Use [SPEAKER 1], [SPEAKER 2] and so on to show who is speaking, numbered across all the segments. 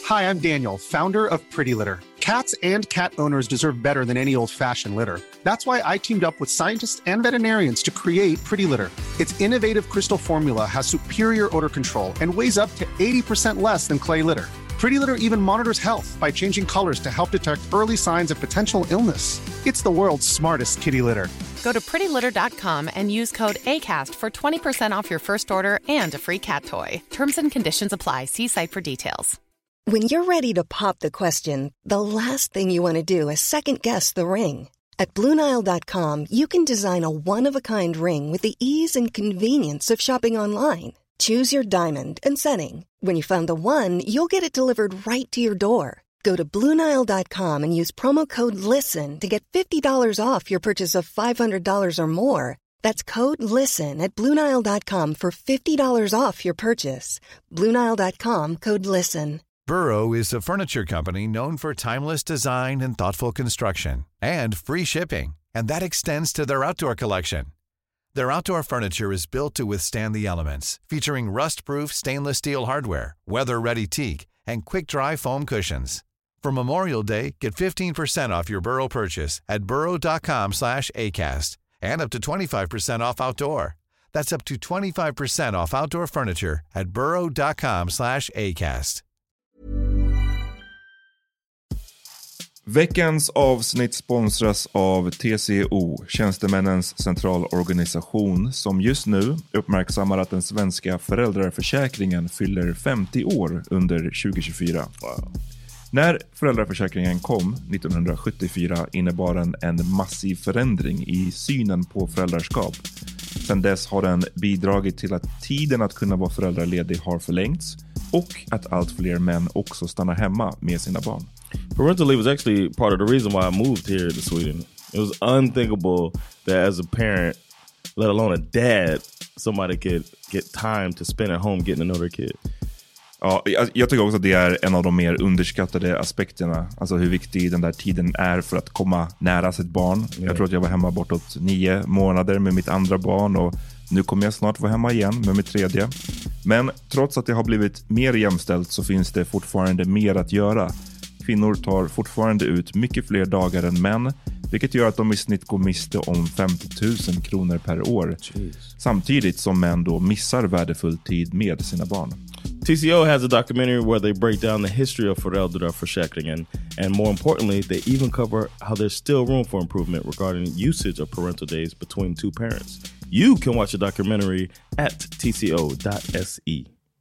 [SPEAKER 1] Hi, I'm Daniel, founder of Pretty Litter. Cats and cat owners deserve better than any old-fashioned litter. That's why I teamed up with scientists and veterinarians to create Pretty Litter. Its innovative crystal formula has superior odor control and weighs up to 80% less than clay litter. Pretty Litter even monitors health by changing colors to help detect early signs of potential illness. It's the world's smartest kitty litter.
[SPEAKER 2] Go to prettylitter.com and use code ACAST for 20% off your first order and a free cat toy. Terms and conditions apply. See site for details.
[SPEAKER 3] When you're ready to pop the question, the last thing you want to do is second-guess the ring. At BlueNile.com, you can design a one-of-a-kind ring with the ease and convenience of shopping online. Choose your diamond and setting. When you find the one, you'll get it delivered right to your door. Go to BlueNile.com and use promo code LISTEN to get $50 off your purchase of $500 or more. That's code LISTEN at BlueNile.com for $50 off your purchase. BlueNile.com, code LISTEN.
[SPEAKER 4] Burrow is a furniture company known for timeless design and thoughtful construction, and free shipping, and that extends to their outdoor collection. Their outdoor furniture is built to withstand the elements, featuring rust-proof stainless steel hardware, weather-ready teak, and quick-dry foam cushions. For Memorial Day, get 15% off your Burrow purchase at burrow.com/acast, and up to 25% off outdoor. That's up to 25% off outdoor furniture at burrow.com/acast.
[SPEAKER 5] Veckans avsnitt sponsras av TCO, Tjänstemännens centralorganisation, som just nu uppmärksammar att den svenska föräldraförsäkringen fyller 50 år under 2024. Wow. När föräldraförsäkringen kom 1974 innebar den en massiv förändring i synen på föräldraskap. Sedan dess har den bidragit till att tiden att kunna vara föräldraledig har förlängts och att allt fler män också stannar hemma med sina barn.
[SPEAKER 6] Parental leave was actually part of the reason why I moved here to Sweden. It was unthinkable that as a parent, let alone a dad, somebody could get time to spend at home getting to know their kid.
[SPEAKER 5] Ja, jag tycker också att det är en av de mer underskattade aspekterna. Alltså hur viktig den där tiden är för att komma nära sitt barn. Yeah. Jag tror att jag var hemma bortåt 9 månader med mitt andra barn och nu kommer jag snart vara hemma igen med mitt tredje. Men trots att det har blivit mer jämställt så finns det fortfarande mer att göra. Kvinnor tar fortfarande ut mycket fler dagar än män, vilket gör att de i snitt går miste om 50 000 kronor per år. Jeez. Samtidigt som män då missar värdefull tid med sina barn.
[SPEAKER 6] TCO has a documentary where they break down the history of föräldraförsäkringen, and more importantly, they even cover how there's still room for improvement regarding usage of parental days between two parents. You can watch the documentary at tco.se.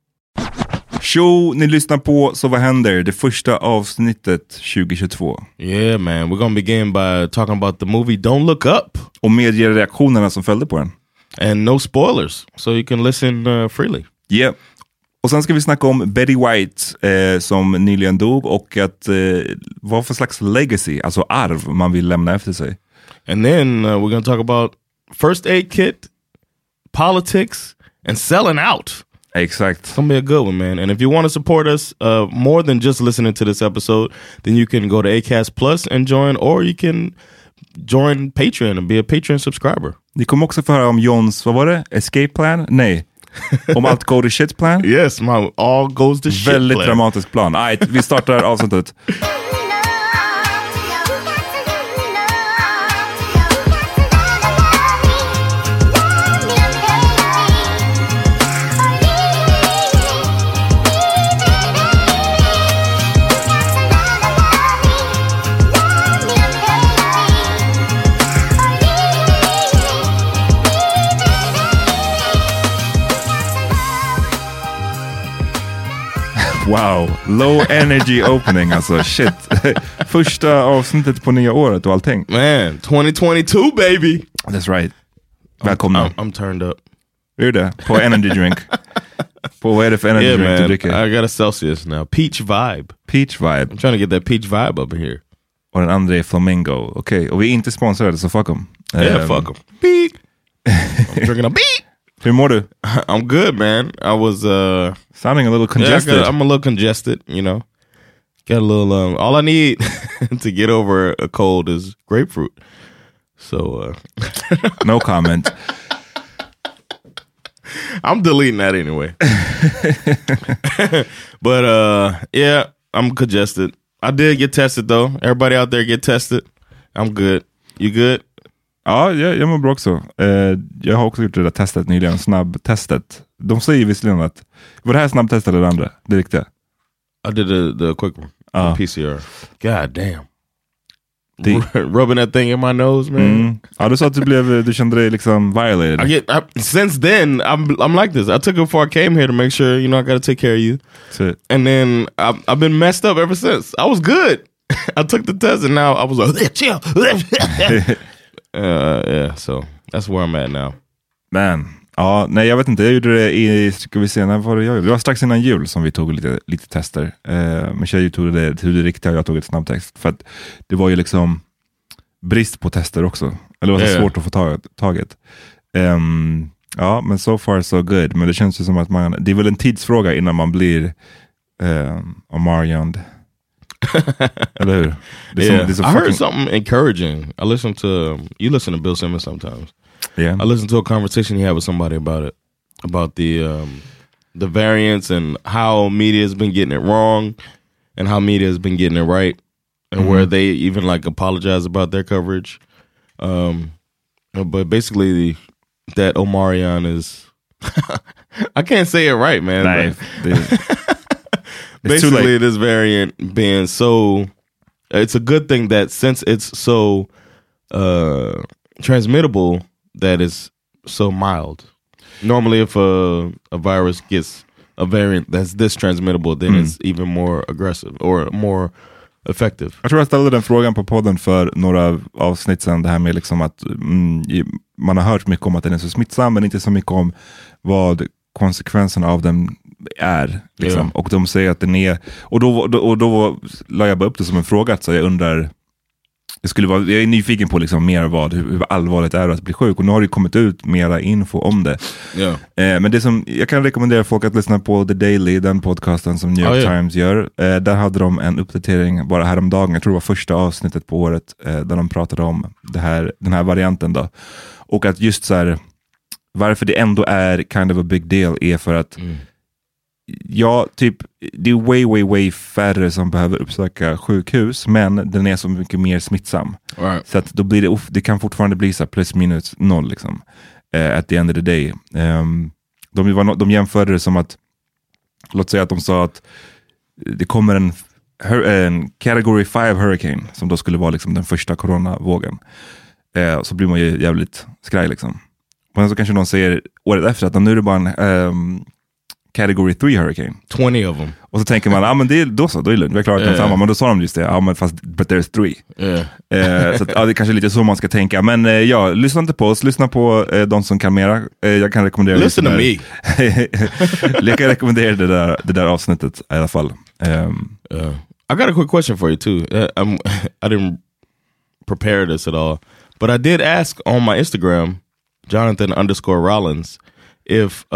[SPEAKER 5] Show, ni lyssnar på Så vad händer? Det första avsnittet 2022.
[SPEAKER 6] Yeah man, we're gonna begin by talking about the movie Don't Look Up.
[SPEAKER 5] Och mediereaktionerna som följde på den.
[SPEAKER 6] And no spoilers, so you can listen freely.
[SPEAKER 5] Yeah. Och sen ska vi snacka om Betty White som nyligen dog och att vad för slags legacy, alltså arv man vill lämna efter sig.
[SPEAKER 6] And then we're gonna talk about first aid kit, politics, and selling out.
[SPEAKER 5] Exact.
[SPEAKER 6] It's gonna be a good one, man. And if you want to support us more than just listening to this episode, then you can go to Acast Plus and join, or you can join Patreon and be a Patreon subscriber.
[SPEAKER 5] Ni kommer också få höra om Johns, vad var det? Escape plan? Nej. Om allt go to shit plan?
[SPEAKER 6] Yes, my all goes to shit
[SPEAKER 5] Väldigt
[SPEAKER 6] plan.
[SPEAKER 5] dramatisk plan. Right, vi startar avsnittet. Wow, low energy opening, alltså shit. Första avsnittet på nya året och allting.
[SPEAKER 6] Man, 2022 baby.
[SPEAKER 5] That's right. Välkomna.
[SPEAKER 6] I'm turned up.
[SPEAKER 5] Hur är det? På energy drink. På vad är det för energy drink
[SPEAKER 6] man,
[SPEAKER 5] du dricker?
[SPEAKER 6] I got a Celsius now. Peach vibe.
[SPEAKER 5] Peach vibe.
[SPEAKER 6] I'm trying to get that peach vibe up here.
[SPEAKER 5] Och den andra är flamingo. Okej, och vi är inte sponsrade så fuck them.
[SPEAKER 6] Yeah, fuck them. Beep. I'm drinking a beep.
[SPEAKER 5] Hur mår du?
[SPEAKER 6] I'm good, man. I was
[SPEAKER 5] sounding a little congested.
[SPEAKER 6] Yeah, I'm a little congested, you know. Got a little all I need to get over a cold is grapefruit. So
[SPEAKER 5] no comment.
[SPEAKER 6] I'm deleting that anyway. But yeah, I'm congested. I did get tested though. Everybody out there get tested. I'm good. You good?
[SPEAKER 5] Ja, jag mår bra också. Jag har också gjort det där testet nyligen, snabbtestet. De säger visserligen att, var det här snabbtestet eller det andra? Det riktiga?
[SPEAKER 6] I did the quick one. PCR. God damn. Rubbing that thing in my nose, man.
[SPEAKER 5] Ja, du sa att du kände dig liksom violated.
[SPEAKER 6] Since then, I'm like this. I took it before I came here to make sure, you know, I got to take care of you. And then I've been messed up ever since. I was good. I took the test and now I was like, chill. Yeah, so that's where I'm at now.
[SPEAKER 5] Man. Ja, nej jag vet inte, jag gjorde det ska vi se, när var det jag gjorde? Det var strax innan jul som vi tog lite tester. Men tjejer tog det riktiga och jag tog ett snabbtest. För att det var ju liksom brist på tester också. Eller det var så svårt att få taget. Ja, men so far so good. Men det känns ju som att det är väl en tidsfråga innan man blir Omarion. Eller hur?
[SPEAKER 6] I heard something encouraging. I listened to, you listen to Bill Simmons sometimes.
[SPEAKER 5] Yeah.
[SPEAKER 6] I listened to a conversation he had with somebody about it, about the variants and how media has been getting it wrong and how media has been getting it right, and where they even like apologize about their coverage. But basically that Omarion is I can't say it right, man. Basically this variant being so, it's a good thing that since it's so transmittable, that is so mild. Normally if a virus gets a variant that's this transmittable, then it's even more aggressive or more effective.
[SPEAKER 5] Jag tror jag ställde den frågan på podden för några avsnitt sedan, det här med liksom att man har hört mycket om att den är så smittsam, men inte så mycket om vad konsekvenserna av den är liksom. Och de säger att den är, och då la jag bara upp det som en fråga, så jag undrar, jag är nyfiken på liksom mer hur allvarligt det är att bli sjuk, och nu har det kommit ut mera info om det. Men det som jag kan rekommendera folk att lyssna på The Daily, den podcasten som New York Times gör. Där hade de en uppdatering bara häromdagen, jag tror det var första avsnittet på året, där de pratade om den här varianten då. Och att just så här, varför det ändå är kind of a big deal är för att ja, typ det är way färre som behöver uppsöka sjukhus, men den är så mycket mer smittsam.
[SPEAKER 6] Right.
[SPEAKER 5] Så att då blir det kan fortfarande bli så plus minus noll liksom. At the end of the day. De jämförde det som att, låt säga att de sa att det kommer en category 5 hurricane som då skulle vara liksom den första coronavågen. Så blir man ju jävligt skraj liksom. Men så kanske någon säger året efter att nu är det bara en category 3 hurricane.
[SPEAKER 6] 20 of them. Och
[SPEAKER 5] så tänker man, men det är då är det lugnt. Vi har klarat den samma. Men då sa de just det, men fast but there's 3. Så att, det är kanske lite så man ska tänka. Men lyssna inte på oss. Lyssna på de som kan mera. Jag kan rekommendera
[SPEAKER 6] listen to me.
[SPEAKER 5] Jag kan rekommendera det där avsnittet i alla fall.
[SPEAKER 6] I got a quick question for you too. I didn't prepare this at all. But I did ask on my Instagram, Jonathan_Rollins, if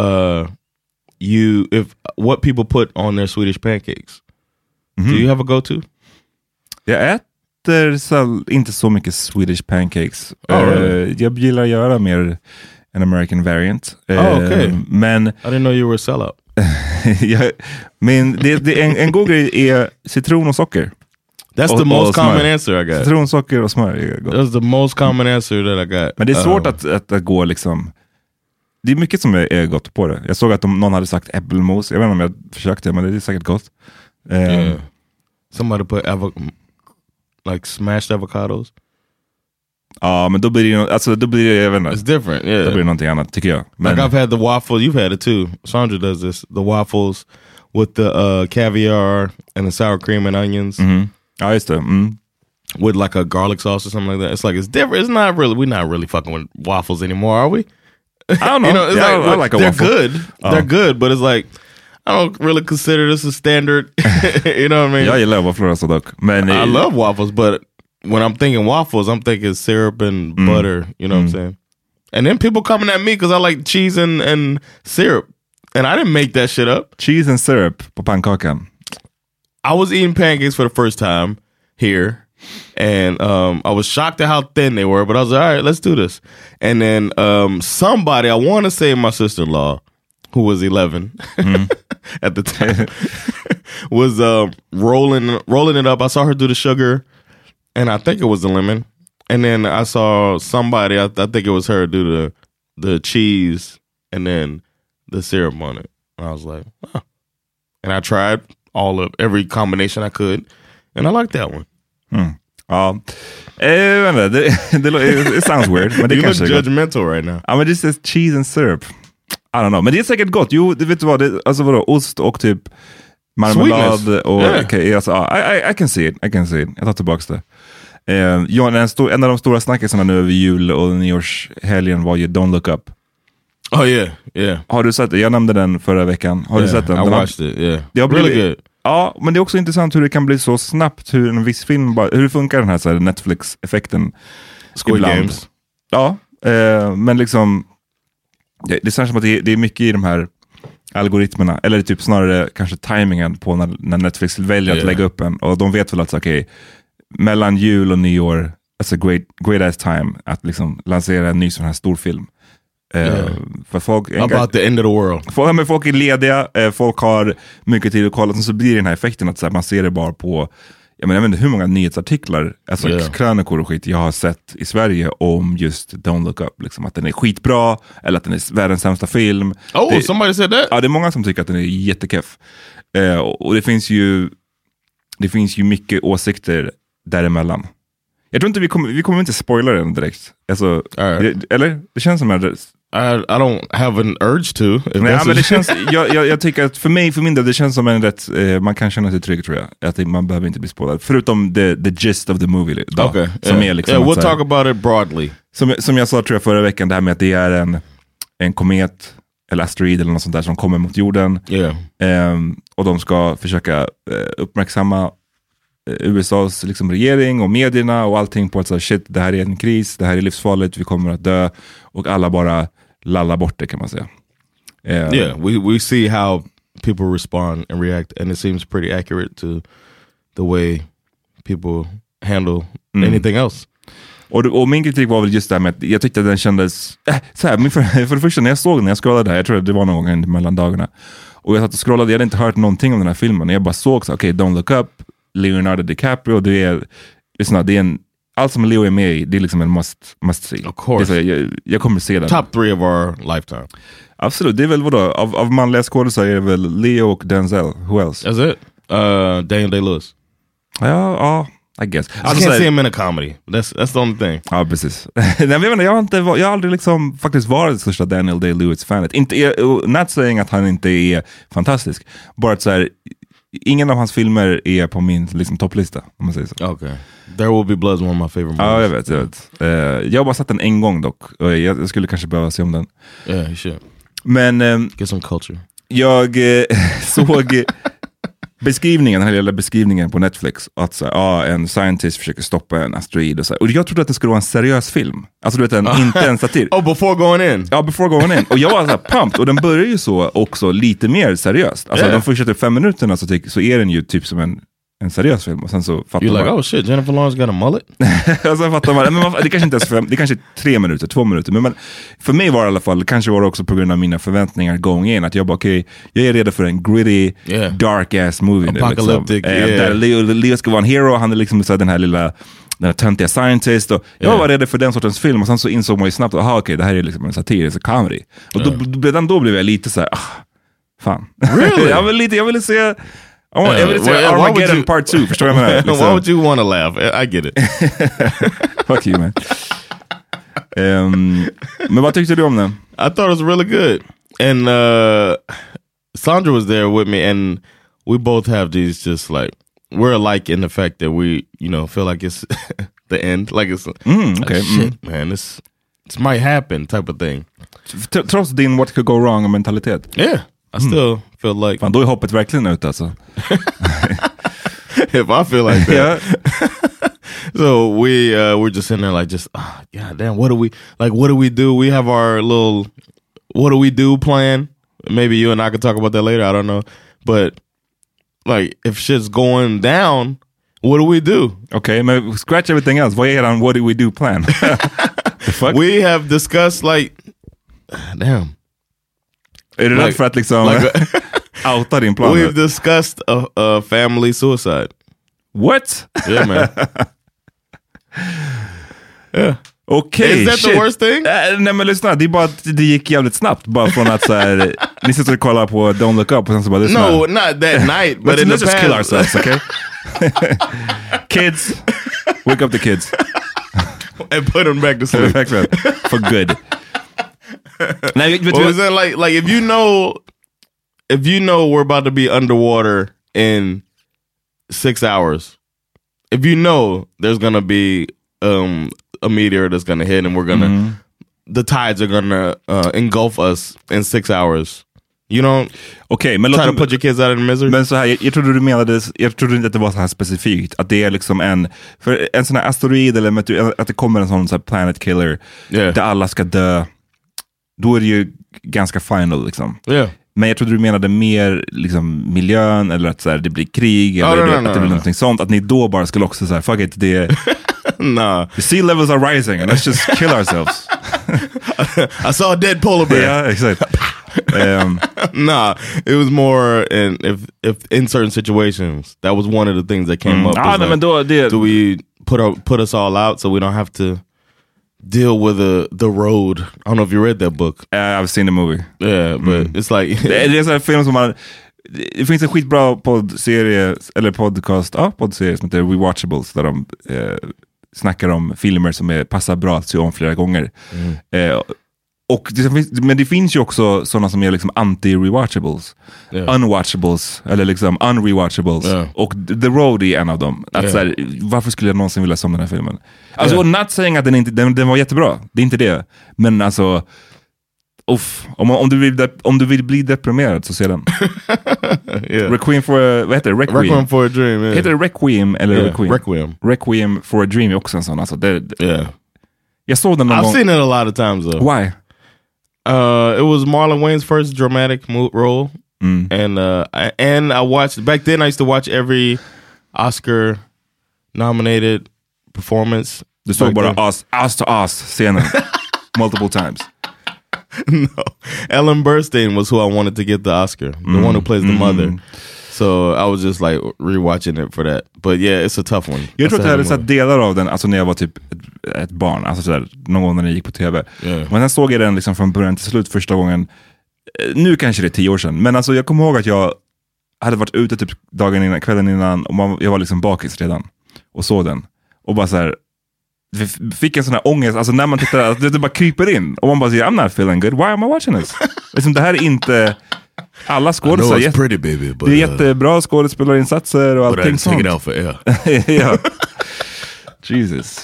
[SPEAKER 6] what people put on their Swedish pancakes. Do you have a go-to?
[SPEAKER 5] Jag äter inte så mycket Swedish pancakes. Jag gillar att göra mer en American variant.
[SPEAKER 6] Okay.
[SPEAKER 5] Men
[SPEAKER 6] I didn't know you were a sellout.
[SPEAKER 5] Men en god grej är citron och socker.
[SPEAKER 6] That's the most common answer I got.
[SPEAKER 5] Citron, socker och smör är gott.
[SPEAKER 6] That's the most common answer that I got.
[SPEAKER 5] Men det är svårt att gå liksom. Det är mycket som är gott på det. Jag såg att någon hade sagt äppelmos. Jag vet inte om jag försökte, men det är säkert gott.
[SPEAKER 6] Somebody put like smashed avocados.
[SPEAKER 5] Ja, men då blir det jag vet inte.
[SPEAKER 6] It's different, yeah.
[SPEAKER 5] Då blir det någonting annat, tycker jag. Men
[SPEAKER 6] like I've had the waffle, you've had it too. Sandra does this. The waffles with the caviar and the sour cream and onions.
[SPEAKER 5] Ja, just det.
[SPEAKER 6] With like a garlic sauce or something like that. It's like, it's different. It's not really, we're not really fucking with waffles anymore, are we?
[SPEAKER 5] I don't know.
[SPEAKER 6] You know, it's
[SPEAKER 5] I like a
[SPEAKER 6] they're
[SPEAKER 5] waffle.
[SPEAKER 6] good. They're good, but it's like, I don't really consider this a standard. You know what I mean?
[SPEAKER 5] Jag gillar wafflor alltså dock. Men
[SPEAKER 6] I love waffles, but when I'm thinking waffles, I'm thinking syrup and butter. You know what I'm saying? And then people coming at me because I like cheese and syrup. And I didn't make that shit up.
[SPEAKER 5] Cheese and syrup på pannkakan.
[SPEAKER 6] I was eating pancakes for the first time here. And I was shocked at how thin they were, but I was like, all right, let's do this. And then somebody, I want to say my sister-in-law, who was 11, at the time, was rolling it up. I saw her do the sugar, and I think it was the lemon. And then I saw somebody, I think it was her, do the cheese and then the syrup on it. And I was like, huh. And I tried every combination I could, and I liked that one.
[SPEAKER 5] Ja, it sounds weird. Men det
[SPEAKER 6] you
[SPEAKER 5] kanske
[SPEAKER 6] look judgmental right now.
[SPEAKER 5] Ja, men det är cheese and syrup. I don't know. Men det är säkert gott. Jo, du vet vad, alltså vadå, ost och typ marmelad och I can see it. Jag tar tillbaka det. En av de stora snackisarna nu över jul och nyårshelgen var ju Don't Look Up.
[SPEAKER 6] Oh yeah.
[SPEAKER 5] Har du sett det? Jag nämnde den förra veckan. Har du sett den?
[SPEAKER 6] I watched it, yeah. Really good.
[SPEAKER 5] Ja, men det är också intressant hur det kan bli så snabbt, hur en viss film hur det funkar den här Netflix-effekten.
[SPEAKER 6] Squid Games.
[SPEAKER 5] Ja, men liksom det känns som att det är mycket i de här algoritmerna, eller typ snarare kanske timingen på när Netflix väljer att lägga upp en, och de vet väl att okej, mellan jul och nyår, alltså great ass time att liksom lansera en ny sån här stor film. För folk
[SPEAKER 6] about the end of the world.
[SPEAKER 5] Folk är lediga, folk har mycket tid att kolla, så blir det den här effekten att så här, man ser det bara på, jag vet inte hur många nyhetsartiklar, alltså krönikor och skit jag har sett i Sverige om just Don't Look Up, liksom, att den är skitbra eller att den är världens sämsta film.
[SPEAKER 6] Somebody said that?
[SPEAKER 5] Ja, det är många som tycker att den är jättekeff. Och det finns ju mycket åsikter däremellan. Jag tror inte vi kommer inte spoila den direkt. Alltså, eller? Det känns som att
[SPEAKER 6] I don't have an urge to.
[SPEAKER 5] Nej, men det känns, jag tycker att för min del, det känns som en rätt, man kan känna sig trygg, tror jag. Att man behöver inte bli spoilad. Förutom the gist of the movie.
[SPEAKER 6] Okay.
[SPEAKER 5] Som är liksom
[SPEAKER 6] we'll talk about it broadly.
[SPEAKER 5] Som jag sa, tror jag, förra veckan, det här med att det är en komet eller asteroid eller något sånt där som kommer mot jorden. Och de ska försöka uppmärksamma USAs liksom regering och medierna och allting på att säga, shit, det här är en kris, det här är livsfarligt, vi kommer att dö, och alla bara lallar bort det, kan man säga.
[SPEAKER 6] We see how people respond and react, and it seems pretty accurate to the way people handle anything else.
[SPEAKER 5] Och min kritik var väl just det här med att jag tyckte att den kändes så här, för det första när jag scrollade där, jag tror att det var någon gång mellan dagarna, och jag satt och scrollade, jag hade inte hört någonting om den här filmen, jag bara såg så okej, Don't Look Up, Leonardo DiCaprio, det är allt som Leo är med i, det är liksom en must see.
[SPEAKER 6] Of course.
[SPEAKER 5] Jag kommer se den.
[SPEAKER 6] Top 3 of our lifetime.
[SPEAKER 5] Absolut, det är väl vadå? Av manliga skådespelare är det väl Leo och Denzel. Who else?
[SPEAKER 6] That's it. Daniel Day-Lewis.
[SPEAKER 5] Ja, I guess.
[SPEAKER 6] I can't see him in a comedy. That's the only thing.
[SPEAKER 5] Ja, precis. Jag har aldrig liksom faktiskt varit det största Daniel Day-Lewis-fanet. Not saying att han inte är fantastisk. Bara att så här, ingen av hans filmer är på min liksom topplista, om man säger så.
[SPEAKER 6] Okay. There Will Be Blood is one of my favorite movies.
[SPEAKER 5] Ja, jag vet. Jag har bara sett den en gång dock. Och jag skulle kanske behöva se om den.
[SPEAKER 6] Yeah, you should.
[SPEAKER 5] Men
[SPEAKER 6] get some culture.
[SPEAKER 5] Jag såg beskrivningen, den här lilla beskrivningen på Netflix, att så, en scientist försöker stoppa en asteroid och så. Och jag trodde att det skulle vara en seriös film. Alltså du vet, inte en satir.
[SPEAKER 6] Before going in.
[SPEAKER 5] Ja, before going in. Och jag var så här pumped. Och den börjar ju så också lite mer seriöst. Alltså de första 5 minuterna så är den ju typ som en seriös film. Och sen så fattar
[SPEAKER 6] man.
[SPEAKER 5] You're
[SPEAKER 6] like, oh shit, Jennifer Lawrence got a mullet?
[SPEAKER 5] Och sen fattar man, men det kanske inte är det kanske är 3 minuter, 2 minuter. Men för mig var det i alla fall, kanske var det också på grund av mina förväntningar going in, att jag bara okej, jag är redo för en gritty, dark ass movie.
[SPEAKER 6] Apocalyptic,
[SPEAKER 5] liksom. Där Leo ska vara en hero, han är liksom så den här töntiga scientist, och jag var redo för den sortens film, och sen så insåg man ju snabbt att okej, det här är liksom en satirisk comedy. Och då blev jag lite så här, fan.
[SPEAKER 6] Really?
[SPEAKER 5] jag ville se Armageddon part 2, förstår jag med liksom.
[SPEAKER 6] Why would you want to laugh? I get it.
[SPEAKER 5] Fuck you, man. Men vad tyckte du om den?
[SPEAKER 6] I thought it was really good. And Sandra was there with me, and we both have these just like, we're alike in the fact that we, feel like it's the end. Like it's
[SPEAKER 5] okay.
[SPEAKER 6] Shit, man, this might happen type of thing.
[SPEAKER 5] Trots din what could go wrong mentalitet.
[SPEAKER 6] Yeah. I still feel like...
[SPEAKER 5] Fan, då är hoppet verkligen ute alltså.
[SPEAKER 6] If I feel like that. So we're just sitting there like god damn, what do we do? We have our little what do we do plan. Maybe you and I could talk about that later, I don't know. But like if shit's going down, what do we do?
[SPEAKER 5] Okay, maybe scratch everything else. Vad är on what do we do plan? The fuck?
[SPEAKER 6] We have discussed like damn.
[SPEAKER 5] Är du rädd för att liksom outa din plan?
[SPEAKER 6] We've discussed a family suicide.
[SPEAKER 5] What?
[SPEAKER 6] Yeah, man. Yeah.
[SPEAKER 5] Okej,
[SPEAKER 6] Is that the worst thing?
[SPEAKER 5] Nej men lyssna, det är bara att det gick jävligt snabbt. Bara från att så här, ni sitter och kollar på Don't Look Up och sen så bara lyssna.
[SPEAKER 6] No, not that night, but in the
[SPEAKER 5] let's just
[SPEAKER 6] past.
[SPEAKER 5] kill ourselves, okay? Kids, wake up the kids.
[SPEAKER 6] And put them back to sleep.
[SPEAKER 5] For good. Nej, vet
[SPEAKER 6] Well, is that like if you know we're about to be underwater in 6 hours, if you know there's gonna be a meteor that's gonna hit and we're gonna the tides are gonna engulf us in 6 hours, you don't
[SPEAKER 5] men
[SPEAKER 6] try to put your kids out in misery.
[SPEAKER 5] Men så här, jag trodde du menade, jag trodde inte att det var så här specifikt, att det är liksom en sån här asteroid eller att det kommer en sån här planet killer där alla ska dö. Då är det ju ganska final liksom. Men jag trodde du menade mer liksom miljön, eller att så här, det blir krig eller att det blir någonting sånt, att ni då bara skulle också så här, fuck it, det
[SPEAKER 6] nah.
[SPEAKER 5] The sea levels are rising and let's just kill ourselves.
[SPEAKER 6] I saw a dead polar bear.
[SPEAKER 5] Yeah, exactly.
[SPEAKER 6] Nah, it was more if in certain situations that was one of the things that came up.
[SPEAKER 5] Men då,
[SPEAKER 6] do we put us all out so we don't have to deal with the road? I don't know if you read that book.
[SPEAKER 5] I've seen the movie.
[SPEAKER 6] Yeah, but it's like
[SPEAKER 5] det är en sån här film som man, det finns en skitbra poddserie eller poddserie som heter Rewatchables, där de snackar om filmer som passar bra att se om flera gånger. Men det finns ju också sådana som är liksom anti-rewatchables. Unwatchables, eller liksom unrewatchables. Och The Road är en av dem. Att så här, varför skulle jag någonsin vilja se om den här filmen? Alltså, not saying att den var jättebra. Det är inte det. Men alltså, om du vill bli deprimerad så se den. Requiem for vad heter det?
[SPEAKER 6] Requiem for a Dream. Yeah.
[SPEAKER 5] Heter det Requiem eller
[SPEAKER 6] Requiem?
[SPEAKER 5] Requiem for a Dream är också en sån. Alltså, jag såg den någon gång.
[SPEAKER 6] I've seen it a lot of times though.
[SPEAKER 5] Why?
[SPEAKER 6] It was Marlon Wayne's first dramatic role, and I watched back then. I used to watch every Oscar nominated performance.
[SPEAKER 5] Du såg bara ass to ass scenen multiple times.
[SPEAKER 6] No, Ellen Burstyn was who I wanted to get the Oscar, the one who plays the mother. So I was just like rewatching it for that. But yeah, it's a tough one.
[SPEAKER 5] Jag tror att jag hade sett delar av den, alltså när jag var typ ett barn, alltså sådär, någon gång när den gick på tv. Men sen såg jag den liksom från början till slut första gången. Nu kanske det är 10 år sedan, men alltså jag kommer ihåg att jag hade varit ute typ kvällen innan, och jag var liksom bakis redan och såg den. Och bara så här, fick en sån här ångest, alltså när man tittar, det bara kryper in och man bara säger, I'm not feeling good, why am I watching this? Liksom, det här är inte alla skådespelare. Det är jättebra skådespelarinsatser och allting sånt.
[SPEAKER 6] Take it out for air.
[SPEAKER 5] Ja. Jesus.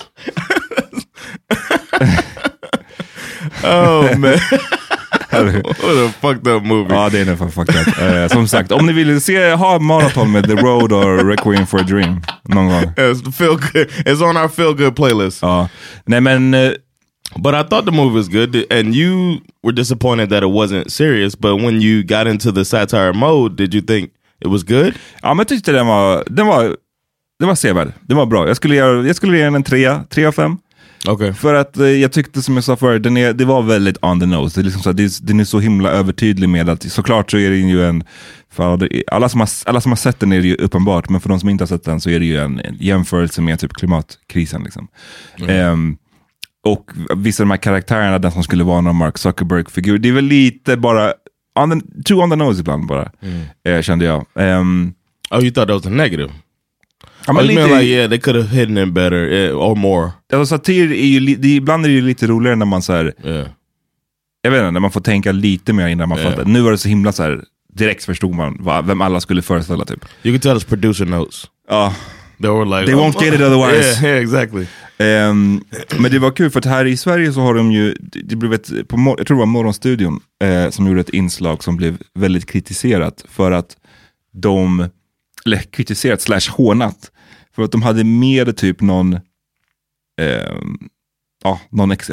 [SPEAKER 6] Oh man. What a fucked up movie.
[SPEAKER 5] Ja, det är nästan fucked up. Som sagt, om ni vill ha maraton med The Road or Requiem for a Dream någon gång.
[SPEAKER 6] It's on our feel good playlist.
[SPEAKER 5] Ja. Nej men
[SPEAKER 6] but I thought the movie was good, and you were disappointed that it wasn't serious, but when you got into the satire mode, did you think it was good?
[SPEAKER 5] Ja, men jag tyckte den var sevärd. Den var bra. Jag skulle ge den en 3 av 5.
[SPEAKER 6] Okay.
[SPEAKER 5] För att jag tyckte, som jag sa förut, det var väldigt on the nose. Det är liksom så, den är så himla övertydlig med att såklart så är det ju en, för alla som har sett den är det ju uppenbart, men för de som inte har sett den så är det ju en jämförelse med typ klimatkrisen liksom. Och vissa av de här karaktärerna, den som skulle vara någon Mark Zuckerberg-figur, det är väl lite bara too on the nose ibland bara, kände jag.
[SPEAKER 6] Oh, you thought that was a negative?
[SPEAKER 5] Ja, men lite,
[SPEAKER 6] like, yeah, they could have hidden it better or more.
[SPEAKER 5] Alltså, satir är ju ibland är det ju lite roligare när man så här, jag vet inte, när man får tänka lite mer innan man fattar. Nu var det så himla så här, direkt förstod man vem alla skulle föreställa typ.
[SPEAKER 6] You can tell us producer notes. They were like,
[SPEAKER 5] they won't get it otherwise.
[SPEAKER 6] Yeah, exactly.
[SPEAKER 5] Men det var kul för att här i Sverige så har de ju, det blev jag tror det var Morgonstudion som gjorde ett inslag som blev väldigt kritiserat för att kritiserat / hånat för att de hade med typ någon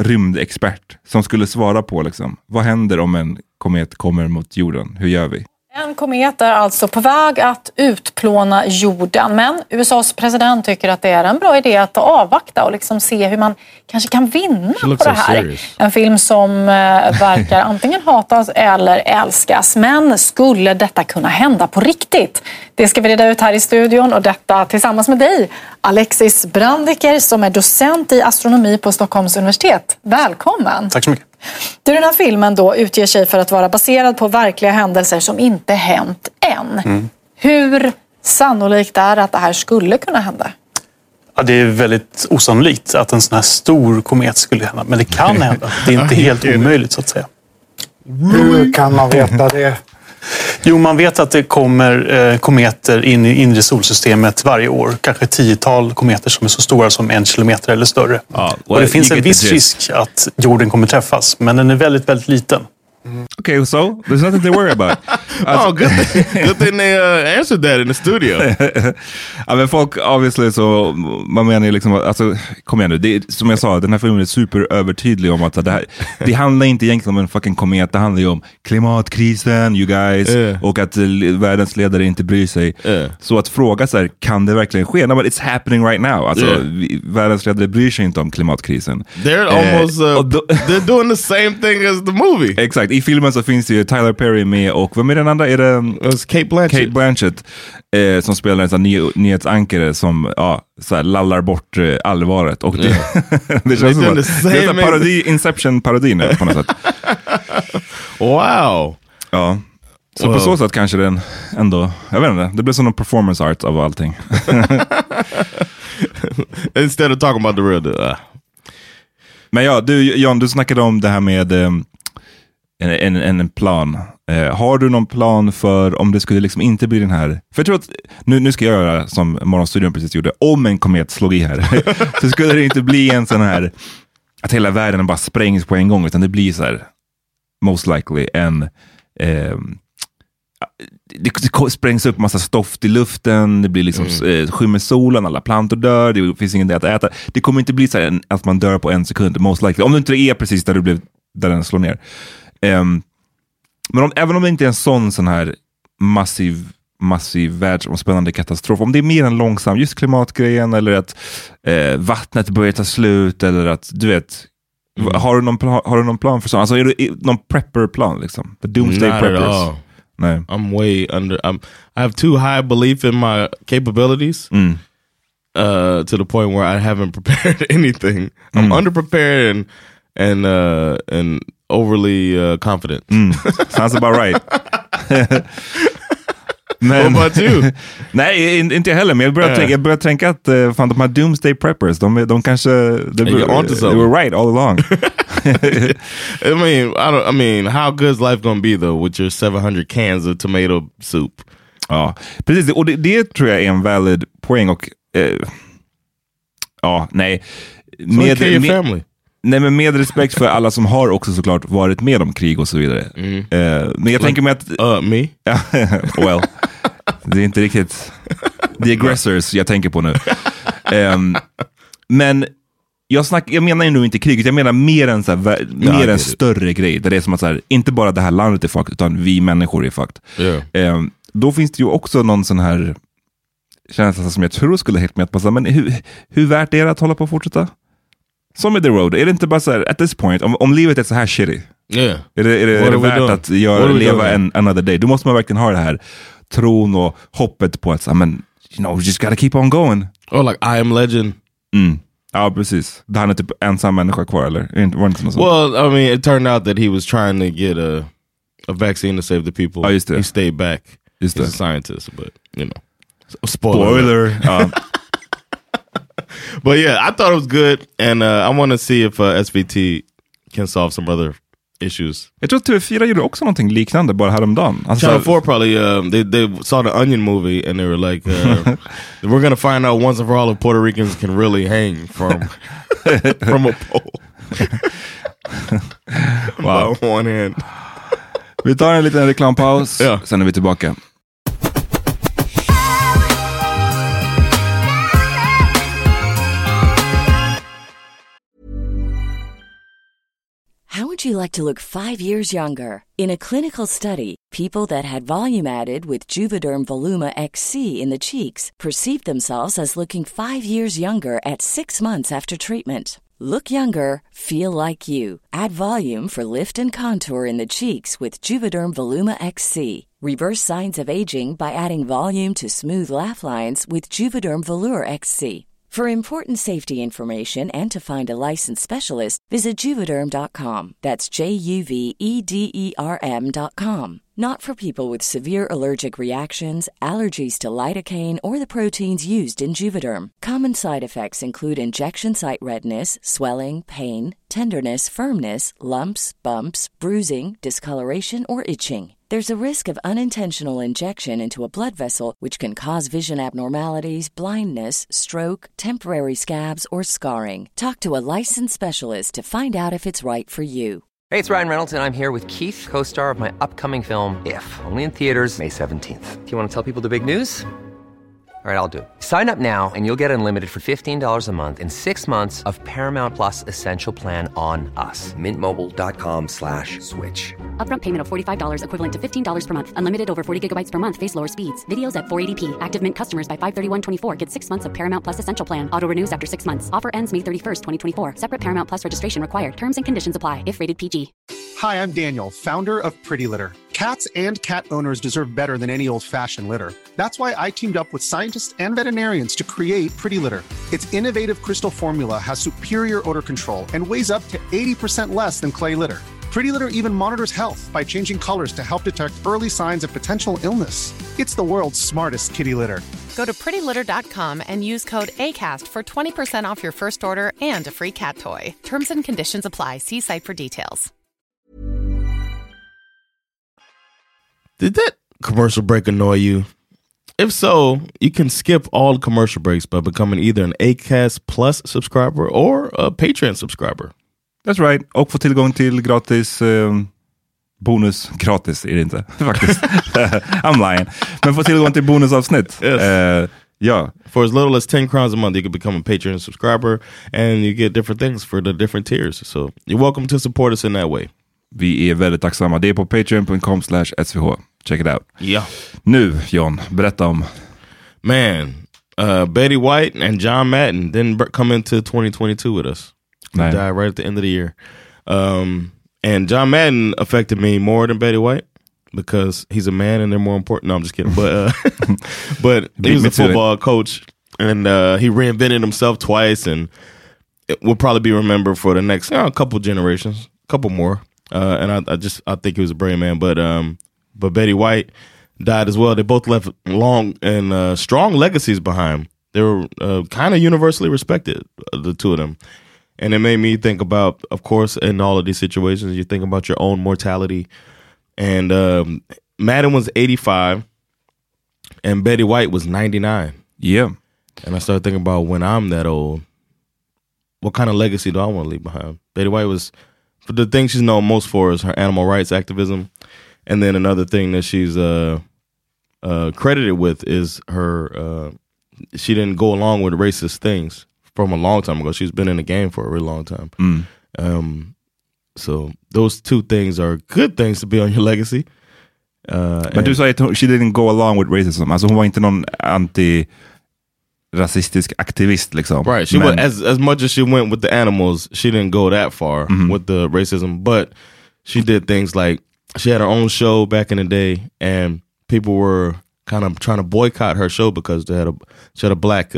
[SPEAKER 5] rymdexpert som skulle svara på liksom, vad händer om en komet kommer mot jorden, hur gör vi?
[SPEAKER 7] En komet är alltså på väg att utplåna jorden, men USAs president tycker att det är en bra idé att avvakta och liksom se hur man kanske kan vinna på det här. En film som verkar antingen hatas eller älskas, men skulle detta kunna hända på riktigt? Det ska vi reda ut här i studion, och detta tillsammans med dig, Alexis Brandiker, som är docent i astronomi på Stockholms universitet. Välkommen!
[SPEAKER 8] Tack så mycket.
[SPEAKER 7] Den här filmen då utger sig för att vara baserad på verkliga händelser som inte hänt än. Hur sannolikt är att det här skulle kunna hända?
[SPEAKER 8] Ja, det är väldigt osannolikt att en sån här stor komet skulle hända. Men det kan hända. Det är inte helt omöjligt, så att säga.
[SPEAKER 9] Hur kan man veta det?
[SPEAKER 8] Jo, man vet att det kommer kometer in i inre solsystemet varje år. Kanske 10-tal kometer som är så stora som 1 kilometer eller större. Och det finns en viss risk att jorden kommer träffas, men den är väldigt, väldigt liten.
[SPEAKER 5] Okay, so there's nothing to worry about.
[SPEAKER 6] Good thing they answered that in the studio.
[SPEAKER 5] Ja, men folk, obviously, så man menar ju liksom, alltså, kom igen nu, det är, som jag sa, den här filmen är superövertydlig om att det handlar inte egentligen om en fucking komet, det handlar ju om klimatkrisen, you guys, och att världens ledare inte bryr sig. Så att fråga så här, kan det verkligen ske? No, but it's happening right now. Alltså, världens ledare bryr sig inte om klimatkrisen.
[SPEAKER 6] They're almost, they're doing the same thing as the movie.
[SPEAKER 5] Exakt, i filmen så finns det ju Tyler Perry med, och vem är den andra? Är det Kate Blanchett som spelar en sån nyhetsankare som så här, lallar bort allvaret, och det, det känns som det är en parodi, Inception-parodi nu på något sätt.
[SPEAKER 6] Wow.
[SPEAKER 5] Ja. Så på så sätt kanske den ändå, jag vet inte, det blir som en performance art av allting.
[SPEAKER 6] Instead of talking about the real
[SPEAKER 5] Men ja, du John, du snackade om det här med en plan. Har du någon plan för om det skulle liksom inte bli den här? För jag tror att, nu ska jag göra som Morgonstudion precis gjorde, om en komet slog i här, så skulle det inte bli en sån här att hela världen bara sprängs på en gång, utan det blir så här, most likely det sprängs upp massa stoft i luften, det blir liksom skymmer solen, alla plantor dör, det finns ingen att äta. Det kommer inte bli så här att man dör på en sekund, most likely, om det inte är precis där den slår ner. Men även om det inte är en sån här massiv världsomspännande katastrof, om det är mer en långsam, just klimatgrejen, eller att vattnet börjar ta slut, eller att, du vet, har du någon plan för sånt? Alltså är det någon prepper-plan liksom? The Doomsday Preppers? Nej.
[SPEAKER 6] I'm way under, I have too high belief in my capabilities to the point where I haven't prepared anything. I'm underprepared and overly confident.
[SPEAKER 5] Sounds about right.
[SPEAKER 6] Men, what about you?
[SPEAKER 5] Nej, inte jag heller, men jag börjar tänka att fan, de här Doomsday Preppers, de kanske they were right all along.
[SPEAKER 6] I mean, how good is life gonna be though with your 700 cans of tomato soup?
[SPEAKER 5] Ja, precis, och det tror jag är en valid poäng, och nej. Nej, men med respekt för alla som har också såklart varit med om krig och så vidare. Men jag tänker mig att
[SPEAKER 6] me?
[SPEAKER 5] Well, det är inte riktigt the aggressors jag tänker på nu. Men jag menar ju nog inte kriget, jag menar mer en, så här, mer en större grej, där det är som att så här, inte bara det här landet är fucked, utan vi människor är fucked. Då finns det ju också någon sån här känsla som jag tror skulle helt med att passa, men hur värt är det att hålla på och fortsätta? Som i The Road, är det inte bara så här, at this point, om livet är så här shitty, är det värt att leva another day? Då måste man verkligen ha det här tron och hoppet på att, men, you know, we just gotta keep on going.
[SPEAKER 6] Or like I Am Legend.
[SPEAKER 5] Ja, precis. Han är typ ensam människa kvar, eller? Var inte något sånt?
[SPEAKER 6] Well, I mean, it turned out that he was trying to get a vaccine to save the people.
[SPEAKER 5] Ja, just det.
[SPEAKER 6] He stayed back.
[SPEAKER 5] Just
[SPEAKER 6] He's a scientist, but, you know. Spoiler. But yeah, I thought it was good, and I want to see if SVT can solve some other issues.
[SPEAKER 5] Jag tror att TV4 gjorde också någonting liknande bara häromdagen. Alltså,
[SPEAKER 6] Channel 4 probably, they saw the Onion movie and they were like, we're gonna find out once and for all if Puerto Ricans can really hang from a pole.
[SPEAKER 5] Wow.
[SPEAKER 6] By one hand.
[SPEAKER 5] Vi tar en liten reklampaus, sen är vi tillbaka.
[SPEAKER 10] How would would you like to look 5 years younger? In a clinical study, people that had volume added with Juvederm Voluma XC in the cheeks perceived themselves as looking 5 years younger at 6 months after treatment. Look younger, feel like you. Add volume for lift and contour in the cheeks with Juvederm Voluma XC. Reverse signs of aging by adding volume to smooth laugh lines with Juvederm Volure XC. For important safety information and to find a licensed specialist, visit Juvederm.com. That's JUVEDERM.com. Not for people with severe allergic reactions, allergies to lidocaine, or the proteins used in Juvederm. Common side effects include injection site redness, swelling, pain, tenderness, firmness, lumps, bumps, bruising, discoloration, or itching. There's a risk of unintentional injection into a blood vessel, which can cause vision abnormalities, blindness, stroke, temporary scabs, or scarring. Talk to a licensed specialist to find out if it's right for you.
[SPEAKER 11] Hey, it's Ryan Reynolds, and I'm here with Keith, co-star of my upcoming film, If, only in theaters May 17th. Do you want to tell people the big news? All right, I'll do it. Sign up now and you'll get unlimited for $15 a month and 6 months of Paramount Plus Essential Plan on us. MintMobile.com/switch.
[SPEAKER 12] Upfront payment of $45 equivalent to $15 per month. Unlimited over 40 gigabytes per month. Face lower speeds. Videos at 480p. Active Mint customers by 531.24 get 6 months of Paramount Plus Essential Plan. Auto renews after 6 months. Offer ends May 31st, 2024. Separate Paramount Plus registration required. Terms and conditions apply if rated PG.
[SPEAKER 1] Hi, I'm Daniel, founder of Pretty Litter. Cats and cat owners deserve better than any old-fashioned litter. That's why I teamed up with scientists and veterinarians to create Pretty Litter. Its innovative crystal formula has superior odor control and weighs up to 80% less than clay litter. Pretty Litter even monitors health by changing colors to help detect early signs of potential illness. It's the world's smartest kitty litter.
[SPEAKER 2] Go to prettylitter.com and use code ACAST for 20% off your first order and a free cat toy. Terms and conditions apply. See site for details.
[SPEAKER 6] Did that commercial break annoy you? If so, you can skip all commercial breaks by becoming either an Acast Plus subscriber or a Patreon subscriber.
[SPEAKER 5] That's right. Och få tillgång till gratis bonus. Gratis är det inte faktiskt. I'm lying. Men få tillgång till bonusavsnitt.
[SPEAKER 6] Yes.
[SPEAKER 5] Yeah.
[SPEAKER 6] For as little as 10 crowns a month, you can become a Patreon subscriber and you get different things for the different tiers. So you're welcome to support us in that way.
[SPEAKER 5] Vi är väldigt tacksamma. Det är på patreon.com/svh. Check it out.
[SPEAKER 6] Yeah.
[SPEAKER 5] Nu, John, berätta om...
[SPEAKER 6] Man, Betty White and John Madden didn't come into 2022 with us. They died right at the end of the year. And John Madden affected me more than Betty White because he's a man and they're more important. No, I'm just kidding. But but he was a football coach and he reinvented himself twice and it will probably be remembered for the next couple generations, couple more. And I think he was a brave man. But Betty White died as well. They both left long and strong legacies behind. They were kind of universally respected, the two of them. And it made me think about, of course, in all of these situations, you think about your own mortality. And Madden was 85 and Betty White was 99.
[SPEAKER 5] Yeah.
[SPEAKER 6] And I started thinking about when I'm that old, what kind of legacy do I want to leave behind? Betty White was, for the thing she's known most for is her animal rights activism. And then another thing that she's credited with is her, she didn't go along with racist things from a long time ago. She's been in the game for a really long time. So those two things are good things to be on your legacy.
[SPEAKER 5] Men du sa att she didn't go along with racism. Alltså hon var inte någon anti-rasistisk aktivist liksom.
[SPEAKER 6] Right. She went, as much as she went with the animals, she didn't go that far with the racism. But she did things like, she had her own show back in the day and people were kind of trying to boycott her show because she had a black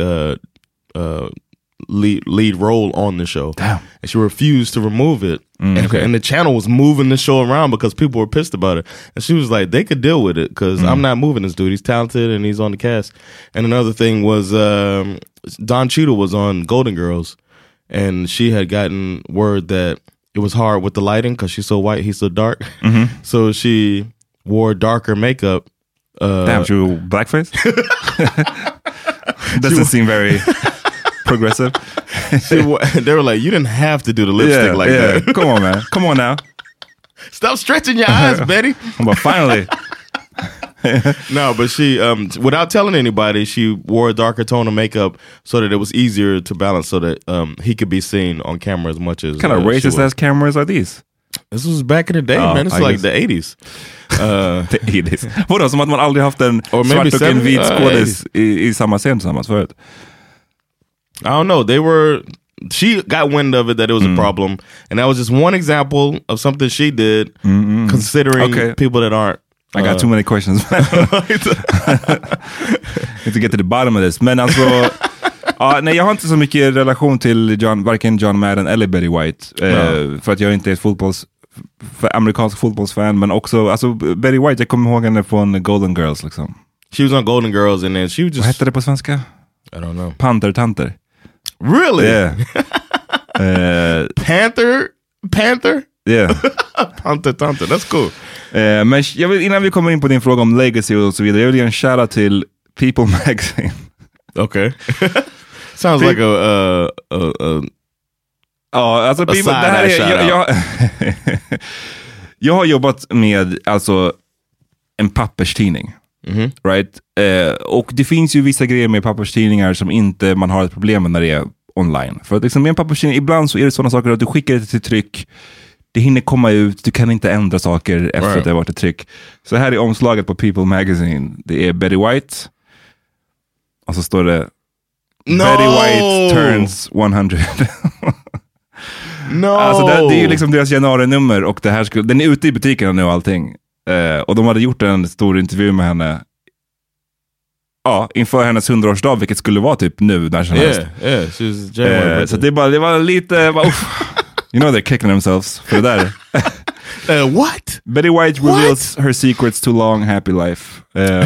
[SPEAKER 6] lead role on the show.
[SPEAKER 5] Damn.
[SPEAKER 6] And she refused to remove it. And the channel was moving the show around because people were pissed about it. And she was like, they could deal with it because I'm not moving this dude. He's talented and he's on the cast. And another thing was Don Cheadle was on Golden Girls and she had gotten word that it was hard with the lighting because she's so white, he's so dark. So she wore darker makeup.
[SPEAKER 5] Damn, she wore blackface? Doesn't seem very progressive.
[SPEAKER 6] They were like, you didn't have to do the lipstick that.
[SPEAKER 5] Come on, man. Come on now.
[SPEAKER 6] Stop stretching your eyes, Betty.
[SPEAKER 5] But finally.
[SPEAKER 6] No, but she, without telling anybody, she wore a darker tone of makeup so that it was easier to balance so that he could be seen on camera as much as...
[SPEAKER 5] What kind of racist-ass cameras are these?
[SPEAKER 6] This was back in the day, man. It's like the 80s.
[SPEAKER 5] The 80s. Vadå, som att man aldrig haft en svart och en vit skådis i samma scen tillsammans förut?
[SPEAKER 6] I don't know. She got wind of it that it was a problem. And that was just one example of something she did, considering people that aren't.
[SPEAKER 5] I got too many questions. Need to get to the bottom of this. Men alltså... nej, jag har inte så mycket relation till varken John Madden eller Betty White. För att jag inte är amerikansk fotbollsfan. Men också, alltså Betty White, jag kommer ihåg henne från Golden Girls liksom.
[SPEAKER 6] She was on Golden Girls and then she was just...
[SPEAKER 5] Vad hette det på svenska?
[SPEAKER 6] I don't know.
[SPEAKER 5] Pantertanter.
[SPEAKER 6] Really?
[SPEAKER 5] Yeah.
[SPEAKER 6] Panther?
[SPEAKER 5] Yeah.
[SPEAKER 6] Pantertanter, that's cool.
[SPEAKER 5] Men jag vill, innan vi kommer in på din fråga om legacy och så vidare, jag vill ge en shoutout till People Magazine.
[SPEAKER 6] Okay. Sounds like a
[SPEAKER 5] alltså det här är, jag har jobbat med alltså en papperstidning. Right? Och det finns ju vissa grejer med papperstidningar som inte man har ett problem med när det är online. För att liksom med en papperstidning, ibland så är det sådana saker att du skickar det till tryck, det hinner komma ut, du kan inte ändra saker efter att det har varit ett tryck. Så här är omslaget på People Magazine. Det är Betty White och så står det Betty White turns 100.
[SPEAKER 6] No.
[SPEAKER 5] Alltså det är ju liksom deras januari-nummer och det här den är ute i butikerna nu och allting. Och de hade gjort en stor intervju med henne inför hennes 100-årsdag, vilket skulle vara typ nu när som helst. Så det var lite you know they're kicking themselves för det där.
[SPEAKER 6] What?
[SPEAKER 5] Betty White reveals her secrets to long happy life.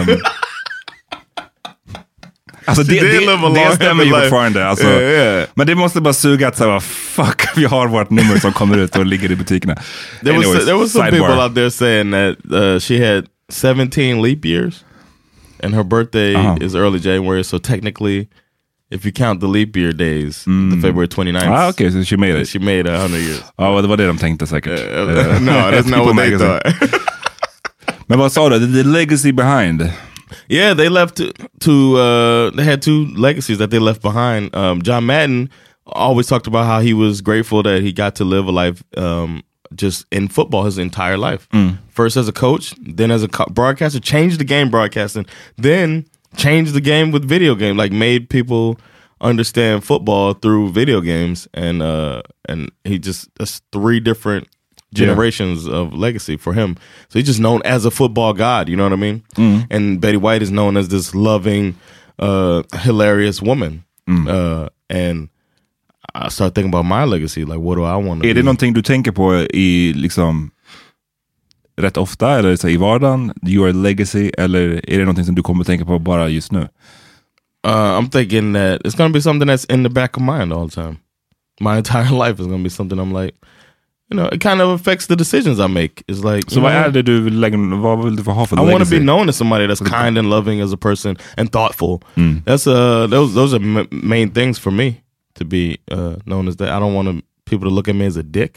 [SPEAKER 5] Alltså det stämmer ju fortfarande alltså. Men det måste bara suga att säga fuck, vi har vårt nummer som kommer ut och ligger i butikerna.
[SPEAKER 6] There was some people out there saying that she had 17 leap years and her birthday is early January, so technically if you count the leap year days, the February 29th.
[SPEAKER 5] Okay, so she made it.
[SPEAKER 6] She made 100 years.
[SPEAKER 5] Det var det de tänkte säkert.
[SPEAKER 6] No, that's not what they thought.
[SPEAKER 5] Men vad sa du? The legacy behind?
[SPEAKER 6] Yeah, they left they had two legacies that they left behind. John Madden always talked about how he was grateful that he got to live a life just in football his entire life. First as a coach, then as a broadcaster, changed the game broadcasting, then changed the game with video game, like made people understand football through video games, and he just, that's three different generations of legacy for him. So he's just known as a football god, you know what I mean? And Betty White is known as this loving, hilarious woman. And I start thinking about my legacy, like what do I want to be?
[SPEAKER 5] Är det någonting du tänker på i liksom rätt ofta, eller så i vardagen, your legacy, eller är det någonting som du kommer att tänka på bara just nu?
[SPEAKER 6] I'm thinking that it's going to be something that's in the back of mind all the time. My entire life is going to be something I'm like, you know, it kind of affects the decisions I make. It's like,
[SPEAKER 5] so vad är det du vill vad vill du ha för legacy?
[SPEAKER 6] I want to be known as somebody that's kind and loving as a person and thoughtful. That's those are main things for me to be known as that. I don't want people to look at me as a dick.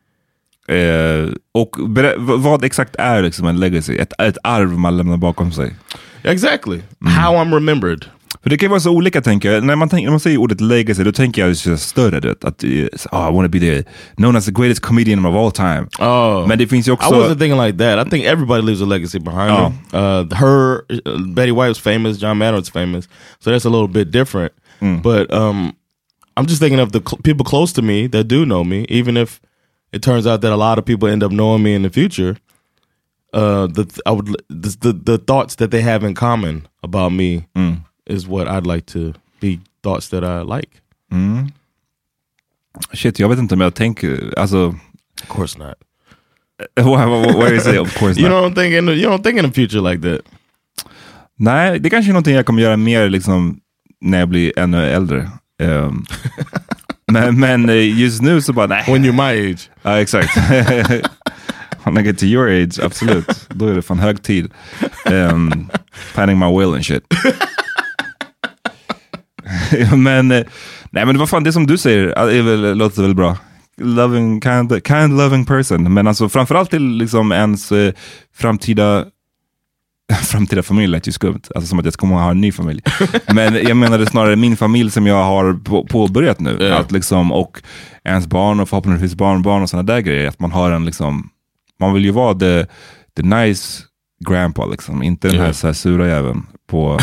[SPEAKER 5] Och vad exakt är liksom en legacy? Ett arv man lämnar bakom sig.
[SPEAKER 6] Exactly. How I'm remembered.
[SPEAKER 5] För det kan vara så olika, tänker jag. När man säger ordet legacy, då tänker jag så större. Att I want to be known as the greatest comedian of all time. Men det finns ju också...
[SPEAKER 6] I wasn't thinking like that. I think everybody leaves a legacy behind them. Betty White was famous, John Madden was famous. So that's a little bit different. But I'm just thinking of the people close to me that do know me, even if it turns out that a lot of people end up knowing me in the future. The thoughts that they have in common about me is what I'd like to be, thoughts that I like.
[SPEAKER 5] Shit, jag vet inte om jag tänker, alltså...
[SPEAKER 6] Of course not.
[SPEAKER 5] Where is it? Of course
[SPEAKER 6] you
[SPEAKER 5] not.
[SPEAKER 6] You don't think in the future like that.
[SPEAKER 5] Nej, det är kanske är någonting jag kommer göra mer liksom när jag blir ännu äldre. Men just nu så bara nej.
[SPEAKER 6] When you're my age.
[SPEAKER 5] Ja, exakt. When I get to your age, absolut. Då är det fan hög tid. Planning my will and shit. Men nej, men det var fan det som du säger låter väl bra. Loving, kind loving person. Men alltså framförallt till liksom ens framtida framtida familj lät ju skumt. Alltså som att jag ska ha en ny familj. Men jag menade snarare min familj som jag har påbörjat nu. Yeah. Att liksom, och ens barn och förhoppningsvis barnbarn och sådana där grejer. Att man har en liksom, man vill ju vara the nice grandpa liksom. Inte den här, så här sura jäveln på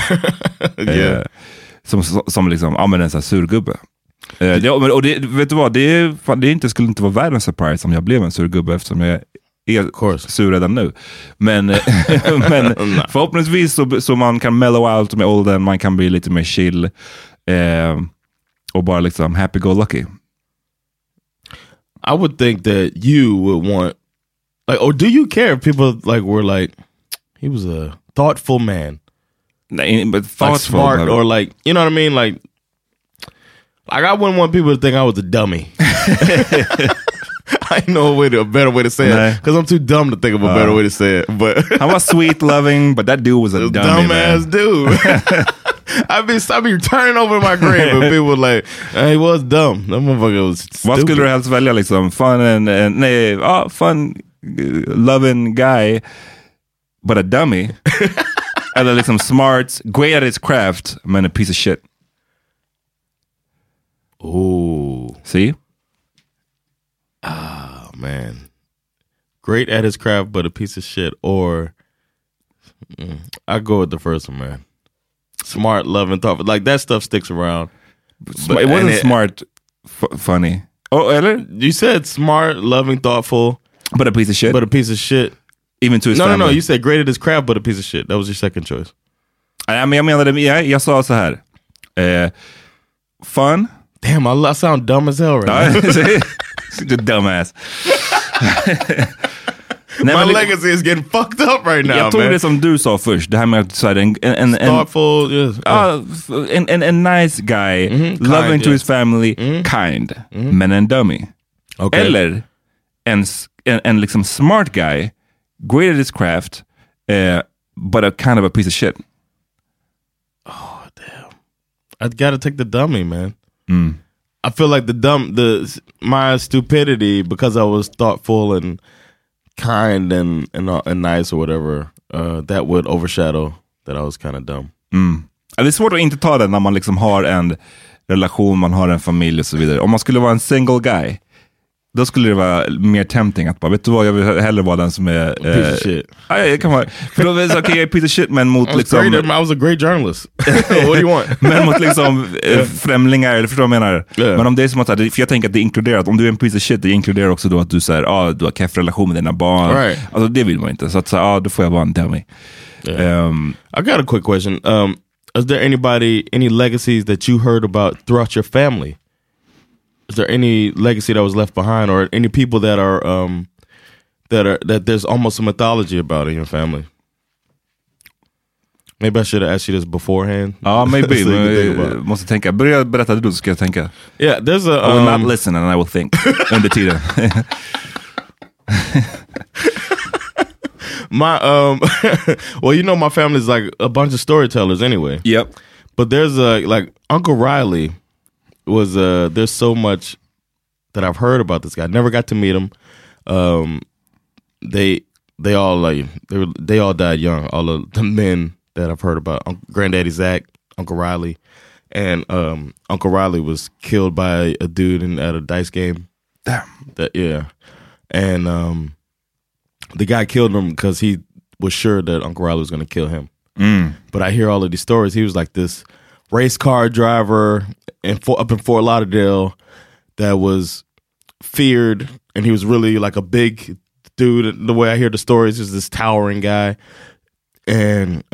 [SPEAKER 5] som liksom, ja men en sån här surgubbe. Och det, vet du vad, det skulle inte vara världens surprise om jag blev en surgubbe eftersom jag är sur redan nu. Men förhoppningsvis så man kan mellow out med åldern, man kan bli lite mer chill och bara liksom happy-go-lucky.
[SPEAKER 6] I would think that you would want, like, or do you care if people like were like, he was a thoughtful man,
[SPEAKER 5] but thoughtful,
[SPEAKER 6] like smart, or like, you know what I mean, like I wouldn't want people to think I was a dummy. I know a better way to say it, because I'm too dumb to think of a better way to say it. But
[SPEAKER 5] I was sweet, loving, but that dude was a
[SPEAKER 6] dumbass dude. I'd be turning over my grave and people were like, he was dumb. That motherfucker was stupid.
[SPEAKER 5] Vad skulle du helst välja liksom? Fun, loving guy, but a dummy. Eller liksom smart, great at his craft, men a piece of shit.
[SPEAKER 6] Oh,
[SPEAKER 5] see?
[SPEAKER 6] Ah, man. Great at his craft, but a piece of shit. Or I go with the first one, man. Smart, loving, thoughtful. Like, that stuff sticks around.
[SPEAKER 5] But it wasn't smart, funny. Oh, eller?
[SPEAKER 6] You said smart, loving, thoughtful.
[SPEAKER 5] But a piece of shit?
[SPEAKER 6] But a piece of shit.
[SPEAKER 5] Even to his family?
[SPEAKER 6] No. You said great at his craft, but a piece of shit. That was your second choice.
[SPEAKER 5] Jag menade, jag sa så här. Fun.
[SPEAKER 6] Damn, I sound dumb as hell right now.
[SPEAKER 5] The dumbass.
[SPEAKER 6] My legacy is getting fucked up right now.
[SPEAKER 5] Jag tog det som du sa först. Det här med att en
[SPEAKER 6] thoughtful, yes.
[SPEAKER 5] En nice guy, loving to his family, kind, men en dummy.
[SPEAKER 6] Okay.
[SPEAKER 5] Eller en liksom smart guy, great at his craft, but a kind of a piece of shit.
[SPEAKER 6] Oh, damn. I gotta take the dummy, man. I feel like my stupidity, because I was thoughtful and kind and nice or whatever, that would overshadow that I was kind of dumb.
[SPEAKER 5] Det är svårt att inte ta det när man liksom har en relation, man har en familj och så vidare. Om man skulle vara en single guy, då skulle det vara mer tempting att bara, vet du vad, jag vill hellre vara den som är
[SPEAKER 6] piece of shit.
[SPEAKER 5] Jag kan vara, för då är det okej, piece of shit, men mot liksom
[SPEAKER 6] I was a great journalist. What do you want?
[SPEAKER 5] Men mot liksom främlingar, eller förstår du vad jag menar?
[SPEAKER 6] Yeah.
[SPEAKER 5] Men om det är som att, för jag tänker att det inkluderar att om du är en piece of shit, det inkluderar också då att du säger, du har keff relation med dina barn.
[SPEAKER 6] Right.
[SPEAKER 5] Alltså det vill man inte. Så att då får jag vara en dummy.
[SPEAKER 6] Yeah. I got a quick question. Is there any legacies that you heard about throughout your family? Is there any legacy that was left behind, or any people that are that there's almost a mythology about in your family? Maybe I should have asked you this beforehand.
[SPEAKER 5] Maybe. So måste tänka. Börja berätta det, så ska jag tänka.
[SPEAKER 6] Yeah, there's a...
[SPEAKER 5] I will not listen and I will think under tiden.
[SPEAKER 6] Well, you know, my family's like a bunch of storytellers anyway.
[SPEAKER 5] Yep.
[SPEAKER 6] But there's like Uncle Riley was there's so much that I've heard about this guy. Never got to meet him. They all died young. All of the men that I've heard about, Granddaddy Zach, Uncle Riley, and Uncle Riley was killed by a dude at a dice game.
[SPEAKER 5] Damn.
[SPEAKER 6] And the guy killed him because he was sure that Uncle Riley was going to kill him. But I hear all of these stories. He was like this race car driver up in Fort Lauderdale that was feared, and he was really like a big dude. The way I hear the stories, is this towering guy, and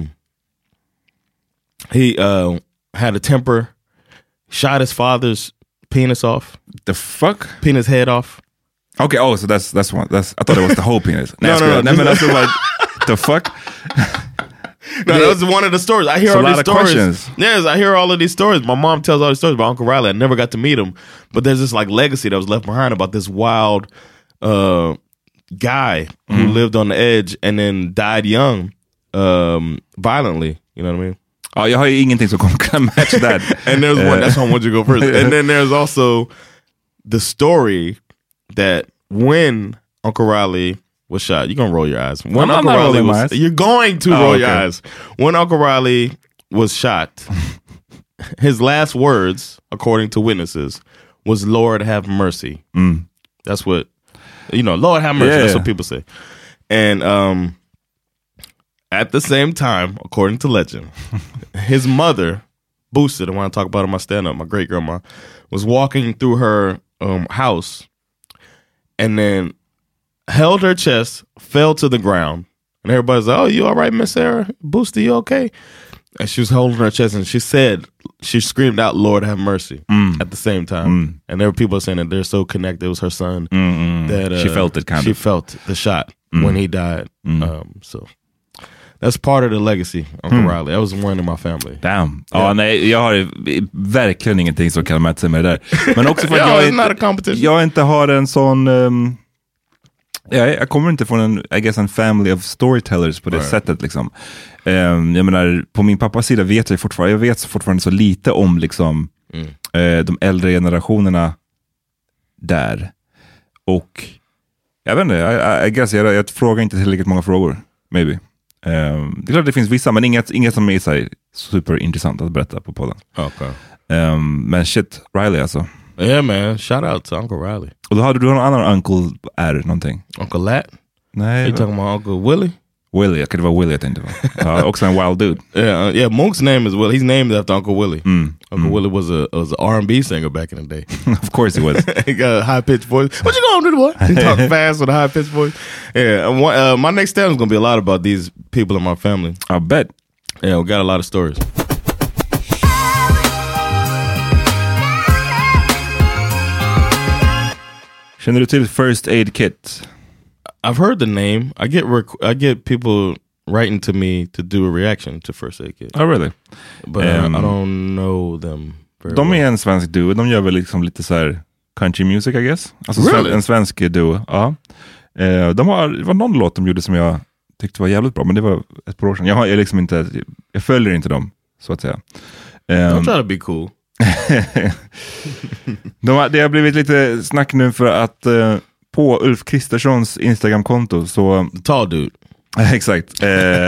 [SPEAKER 6] he had a temper, shot his father's penis off.
[SPEAKER 5] The fuck?
[SPEAKER 6] Penis head off.
[SPEAKER 5] Okay, so that's one. I thought it was the whole penis.
[SPEAKER 6] No.
[SPEAKER 5] That's like, the fuck?
[SPEAKER 6] No, that was one of the stories. I hear all these stories. Yes, I hear all of these stories. My mom tells all these stories about Uncle Riley. I never got to meet him, but there's this like legacy that was left behind about this wild guy who lived on the edge and then died young, violently. You know what I mean?
[SPEAKER 5] Ja, jag har ju ingenting som kan match that.
[SPEAKER 6] And there's one, that's why I want you to go first. And then there's also the story that when Uncle Riley was shot. You're gonna roll your eyes. When Uncle Riley was, you're going to roll your eyes. When Uncle Riley was shot, his last words, according to witnesses, was "Lord have mercy." That's what Lord have mercy. That's what people say. And at the same time, according to legend, his mother, Boosted, I want to talk about in my stand-up, my great-grandma, was walking through her house and then held her chest, fell to the ground. And everybody's like, "Oh, you all right, Miss Sarah? Boosted, you okay?" And she was holding her chest and she screamed out, "Lord have mercy," at the same time. And there were people saying that they're so connected. It was her son. That
[SPEAKER 5] she felt it
[SPEAKER 6] She felt the shot when he died. So that's part of the legacy, Uncle Riley. That was one in my family.
[SPEAKER 5] Damn. Ja, nej, jag har verkligen ingenting som kan mäta sig med det där. Men också för att jag inte har en sån... jag kommer inte från en family of storytellers på det sättet liksom. Jag menar, på min pappas sida vet jag fortfarande så lite om liksom de äldre generationerna där. Och jag vet inte, I guess jag frågar inte tillräckligt många frågor, maybe. Det är klart det finns vissa, men inget som är så här superintressant att berätta på podden.
[SPEAKER 6] Okay.
[SPEAKER 5] Men shit, Riley alltså.
[SPEAKER 6] Yeah man, shout out to Uncle Riley.
[SPEAKER 5] Och då hade du någon annan Uncle R någonting?
[SPEAKER 6] Uncle Lat?
[SPEAKER 5] Nej.
[SPEAKER 6] You talking about Uncle Willie?
[SPEAKER 5] Willie, det var Willie jag tänkte på. Också en wild dude.
[SPEAKER 6] Yeah, Monk's name is Willie. He's named after Uncle Willie. Uncle Willie was an R&B singer back in the day.
[SPEAKER 5] Of course he was.
[SPEAKER 6] He got a high-pitched voice. What you gonna do, boy? He talked fast with a high-pitched voice. Yeah, my next stand is gonna be a lot about these people in my family.
[SPEAKER 5] I bet.
[SPEAKER 6] Yeah, we got a lot of stories.
[SPEAKER 5] Känner du till First Aid Kit?
[SPEAKER 6] I've heard the name. I get people writing to me to do a reaction to First Aid Kit.
[SPEAKER 5] Oh really?
[SPEAKER 6] But I don't know them very
[SPEAKER 5] De
[SPEAKER 6] well.
[SPEAKER 5] är en svensk duo. De gör väl liksom lite så här country music, I guess. Alltså
[SPEAKER 6] really?
[SPEAKER 5] En svensk duo. Ja. Det var någon låt de gjorde som jag tyckte var jävligt bra, men det var ett par år sedan. Jag följer inte dem, så att säga.
[SPEAKER 6] I'm trying to be cool.
[SPEAKER 5] Det har blivit lite snack nu för att på Ulf Kristerssons Instagram-konto så...
[SPEAKER 6] The tall dude.
[SPEAKER 5] Exakt.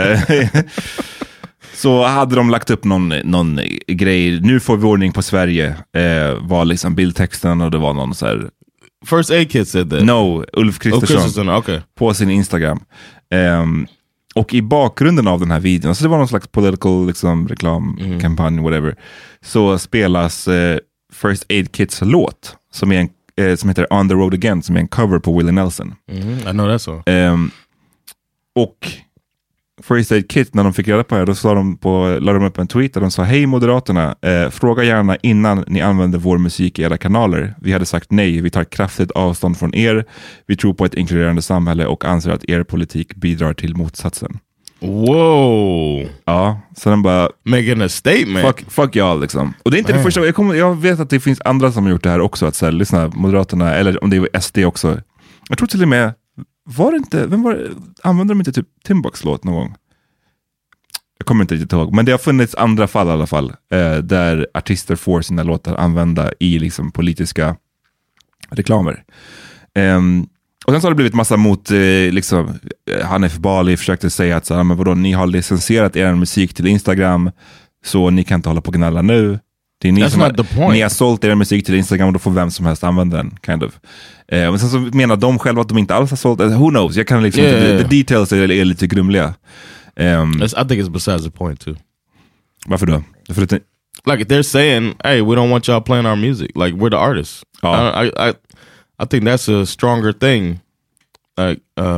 [SPEAKER 5] Så hade de lagt upp någon grej. Nu får vi ordning på Sverige. Var liksom bildtexten och det var någon så här...
[SPEAKER 6] First Aid Kit said that.
[SPEAKER 5] No, Ulf Kristersson.
[SPEAKER 6] Okay.
[SPEAKER 5] På sin Instagram. Och i bakgrunden av den här videon, så det var någon slags political liksom, reklamkampanj, whatever, så spelas First Aid Kits låt som är som heter On the Road Again, som är en cover på Willie Nelson.
[SPEAKER 6] I know that song.
[SPEAKER 5] Och First Aid Kit, när de fick reda på det, då la de upp en tweet där de sa: "Hej Moderaterna, fråga gärna innan ni använder vår musik i era kanaler. Vi hade sagt nej, vi tar kraftigt avstånd från er. Vi tror på ett inkluderande samhälle och anser att er politik bidrar till motsatsen."
[SPEAKER 6] Wow.
[SPEAKER 5] Ja, så den bara...
[SPEAKER 6] Making a statement.
[SPEAKER 5] Fuck y'all liksom. Och det är inte det första. Jag vet att det finns andra som har gjort det här också, att så här, lyssna, Moderaterna, eller om det är SD också. Jag tror till och med... Använde de inte typ Timbuk's låt någon gång? Jag kommer inte riktigt ihåg. Men det har funnits andra fall i alla fall. Där artister får sina låtar använda i liksom politiska reklamer. Och sen så har det blivit massa mot liksom, Hanif Bali försökte säga att så här, men vadå, ni har licensierat er musik till Instagram, så ni kan inte hålla på och gnälla nu. Det är ni har sålt er musik till Instagram och då får vem som helst använda den, kind of. Men sen så menar de själva att de inte alls har sålt. Who knows? Jag kan liksom the details är lite grumliga.
[SPEAKER 6] I think it's besides the point too.
[SPEAKER 5] Varför då? För att
[SPEAKER 6] like they're saying, hey, we don't want y'all playing our music. Like we're the artists. I think that's a stronger thing. Like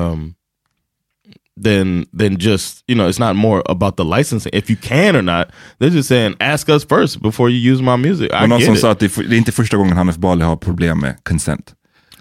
[SPEAKER 6] than just, you know, it's not more about the licensing, if you can or not. They're just saying, ask us first before you use my music.
[SPEAKER 5] I någon som sa att det är inte första gången Hanif Bali har problem med consent.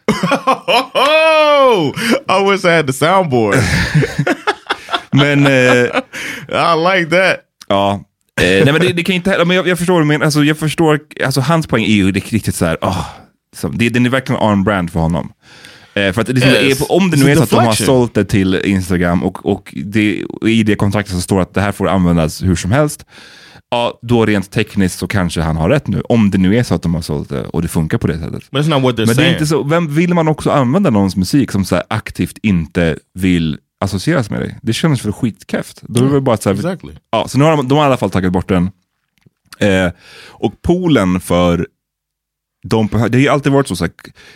[SPEAKER 6] I wish I had the soundboard.
[SPEAKER 5] Men
[SPEAKER 6] I like that.
[SPEAKER 5] Ja. Nej, men det kan inte, men jag förstår, men alltså jag förstår, alltså hans poäng är ju riktigt så här, den är verkligen on brand för honom. För att om det nu är så att de har sålt det till Instagram och i det kontraktet så står att det här får användas hur som helst, Ja, då rent tekniskt så kanske han har rätt nu. Om det nu är så att de har sålt det och det funkar på det sättet.
[SPEAKER 6] Men det är inte
[SPEAKER 5] så, vem vill man också använda någons musik som så här aktivt inte vill associeras med dig? Det känns för skitkäft. Då är det bara så här,
[SPEAKER 6] exactly.
[SPEAKER 5] Ja, så nu har de har i alla fall tagit bort den. Och poolen för de, det har ju alltid varit så här,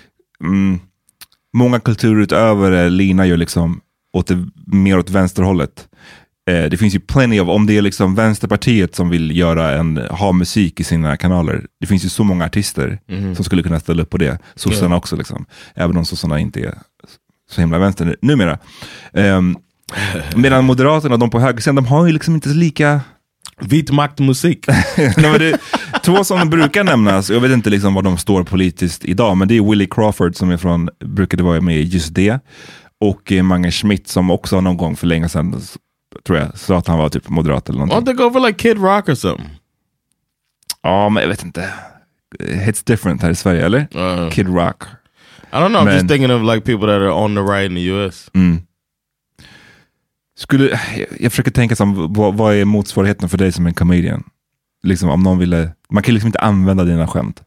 [SPEAKER 5] många kulturutövare linar ju liksom mer åt vänsterhållet. Det finns ju plenty av, om det är liksom Vänsterpartiet som vill ha musik i sina kanaler. Det finns ju så många artister som skulle kunna ställa upp på det. Sossarna också liksom. Även om sossarna inte är så himla vänster numera. Medan Moderaterna och de på högersidan, de har ju liksom inte så lika
[SPEAKER 6] vit maktmusik.
[SPEAKER 5] Två som brukar nämnas, jag vet inte liksom var de står politiskt idag, men det är Willie Crawford som brukade vara med i just det. Och Mange Schmidt som också någon gång för länge sedan, tror jag, så att han var typ moderat eller någonting.
[SPEAKER 6] Why don't they go for like Kid Rock or something?
[SPEAKER 5] Ja, men jag vet inte. It's different här i Sverige, eller? Kid Rock.
[SPEAKER 6] I don't know, I'm just thinking of like people that are on the right in the US.
[SPEAKER 5] Jag försöker tänka som, vad är motsvarigheten för dig som en comedian? Liksom om någon ville, man kan liksom inte använda dina skämt.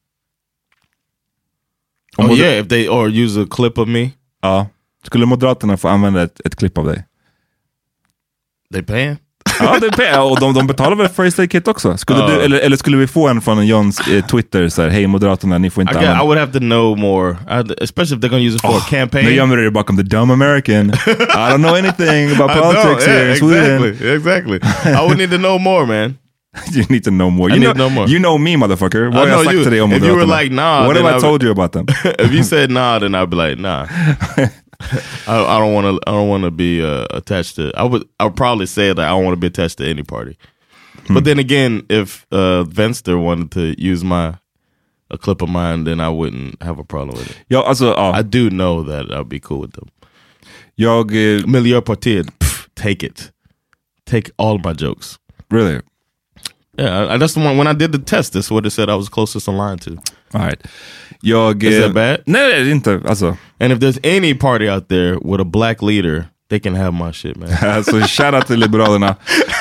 [SPEAKER 6] If they or use a clip of me.
[SPEAKER 5] Ja, skulle Moderaterna få använda ett klipp av dig?
[SPEAKER 6] They pay?
[SPEAKER 5] Ja, det pay. Och de betalar väl First Aid Kit också? Skulle du, eller skulle vi få en från Johns Twitter så här, hej Moderaterna, ni får inte
[SPEAKER 6] I would have to know more, especially if they're going to use it for a campaign.
[SPEAKER 5] Nu gömmer du dig bakom the dumb American. I don't know anything about politics here in Sweden.
[SPEAKER 6] Exactly. I would need to know more, man.
[SPEAKER 5] You need to know more. You know me, motherfucker. What have I sagt till dig om
[SPEAKER 6] Moderaterna? If you were like, nah,
[SPEAKER 5] what have I told you about them?
[SPEAKER 6] If you said nah, then I'd be like, nah. I don't want to be attached to. I would probably say that I don't want to be attached to any party. But then again, if Vänster wanted to use a clip of mine, then I wouldn't have a problem with it.
[SPEAKER 5] Ja, alltså,
[SPEAKER 6] I do know that I'd be cool with them. Miljöpartiet, take it. Take all my jokes.
[SPEAKER 5] Really?
[SPEAKER 6] Yeah, that's the one. When I did the test, that's what it said I was closest in line to.
[SPEAKER 5] All right.
[SPEAKER 6] Is that bad?
[SPEAKER 5] Nej, det är inte. Alltså.
[SPEAKER 6] And if there's any party out there with a black leader, they can have my shit, man.
[SPEAKER 5] Så shout out till Liberalerna.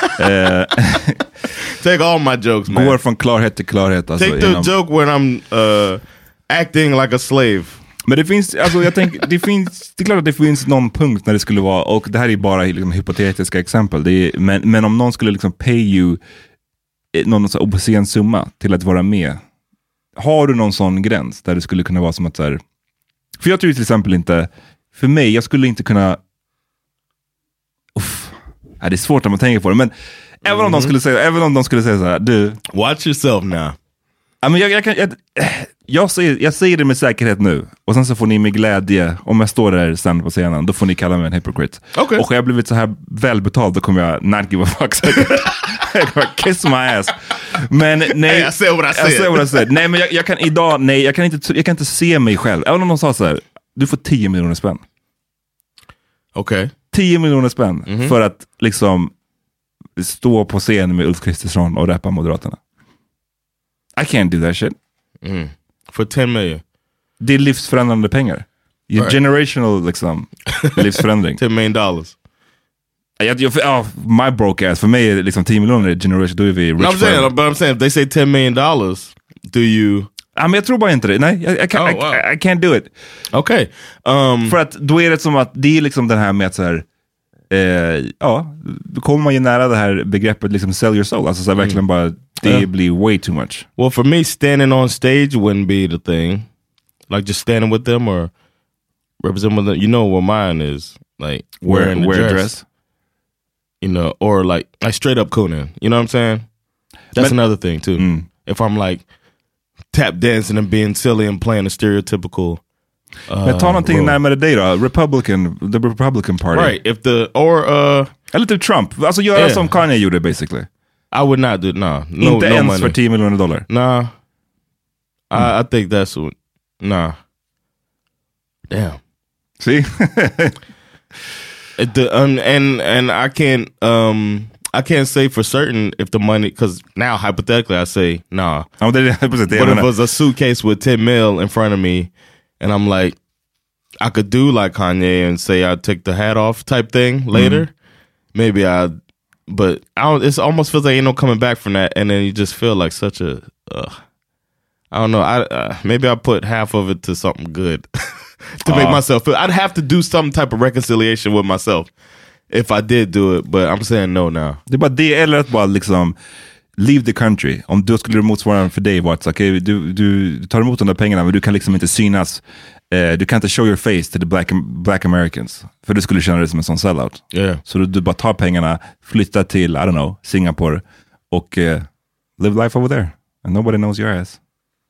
[SPEAKER 6] Take all my jokes, man.
[SPEAKER 5] Går från klarhet till klarhet. Alltså,
[SPEAKER 6] take the joke when I'm acting like a slave.
[SPEAKER 5] Men det finns, alltså jag tänker, det är klart att det finns någon punkt när det skulle vara, och det här är bara liksom hypotetiska exempel, men om någon skulle liksom pay you någon så obscen summa till att vara med, har du någon sån gräns där det skulle kunna vara som att så här, för jag tror till exempel inte, för mig, jag skulle inte kunna, det är svårt när man tänker på det, men även om de skulle säga så här, du,
[SPEAKER 6] watch yourself now.
[SPEAKER 5] Ja, men jag säger det med säkerhet nu. Och sen så får ni med glädje, om jag står där sen på scenen, då får ni kalla mig en hypocrite.
[SPEAKER 6] Okay.
[SPEAKER 5] Och har jag blivit så här välbetald, då kommer jag not give a fuck. Jag kommer kiss my ass. Men nej,
[SPEAKER 6] jag ser vad jag säger.
[SPEAKER 5] Nej, men jag kan inte se mig själv. Även om de sa så här, du får 10 miljoner spänn.
[SPEAKER 6] Okej.
[SPEAKER 5] 10 miljoner spänn för att liksom stå på scen med Ulf Kristersson och rappa Moderaterna. I can't do that shit.
[SPEAKER 6] For 10 million.
[SPEAKER 5] Det är livsförändrande pengar. Right. Generational liksom livsförändring.
[SPEAKER 6] $10 million.
[SPEAKER 5] My broke ass. För mig är liksom 10 miljoner generation. Då är vi rich.
[SPEAKER 6] I'm saying if they say $10 million, do you...
[SPEAKER 5] Men jag tror bara inte det. Nej, I can't do it.
[SPEAKER 6] Okay.
[SPEAKER 5] För att då är det som att det är liksom den här med att så här, då kommer man ju nära det här begreppet liksom sell your soul. Alltså så här, verkligen bara, det blir way too much.
[SPEAKER 6] Well, for me, standing on stage wouldn't be the thing. Like just standing with them or representing them. You know what mine is. Like wearing a dress. You know, or like straight up cooning. You know what I'm saying? That's another thing too. If I'm like tap dancing and being silly and playing a stereotypical
[SPEAKER 5] men ta någonting närmare dig då. The Republican Party.
[SPEAKER 6] Right,
[SPEAKER 5] eller typ Trump. Alltså göra som Kanye gjorde basically.
[SPEAKER 6] I would not do it,
[SPEAKER 5] inte ens money. För $10 miljoner.
[SPEAKER 6] Nah. I think that's nah. Damn.
[SPEAKER 5] See?
[SPEAKER 6] And I can't say for certain if the money, because now hypothetically I say nah. But if it was a suitcase with 10 mil in front of me and I'm like, I could do like Kanye and say I'd take the hat off type thing later. Maybe I'd But it almost feels like ain't no coming back from that, and then you just feel like such a I don't know. Maybe I put half of it to something good to make myself feel. I'd have to do some type of reconciliation with myself if I did do it, but I'm saying no now.
[SPEAKER 5] Det är bara det, eller att bara liksom leave the country. Om då skulle det motsvara för dig var att okay, du tar emot de där pengarna, men du kan liksom inte synas. Du kan inte show your face to the black Americans. För du skulle känna dig som en sån sellout.
[SPEAKER 6] Yeah.
[SPEAKER 5] Så du bara tar pengarna, flyttar till, I don't know, Singapore och live life over there. And nobody knows your ass.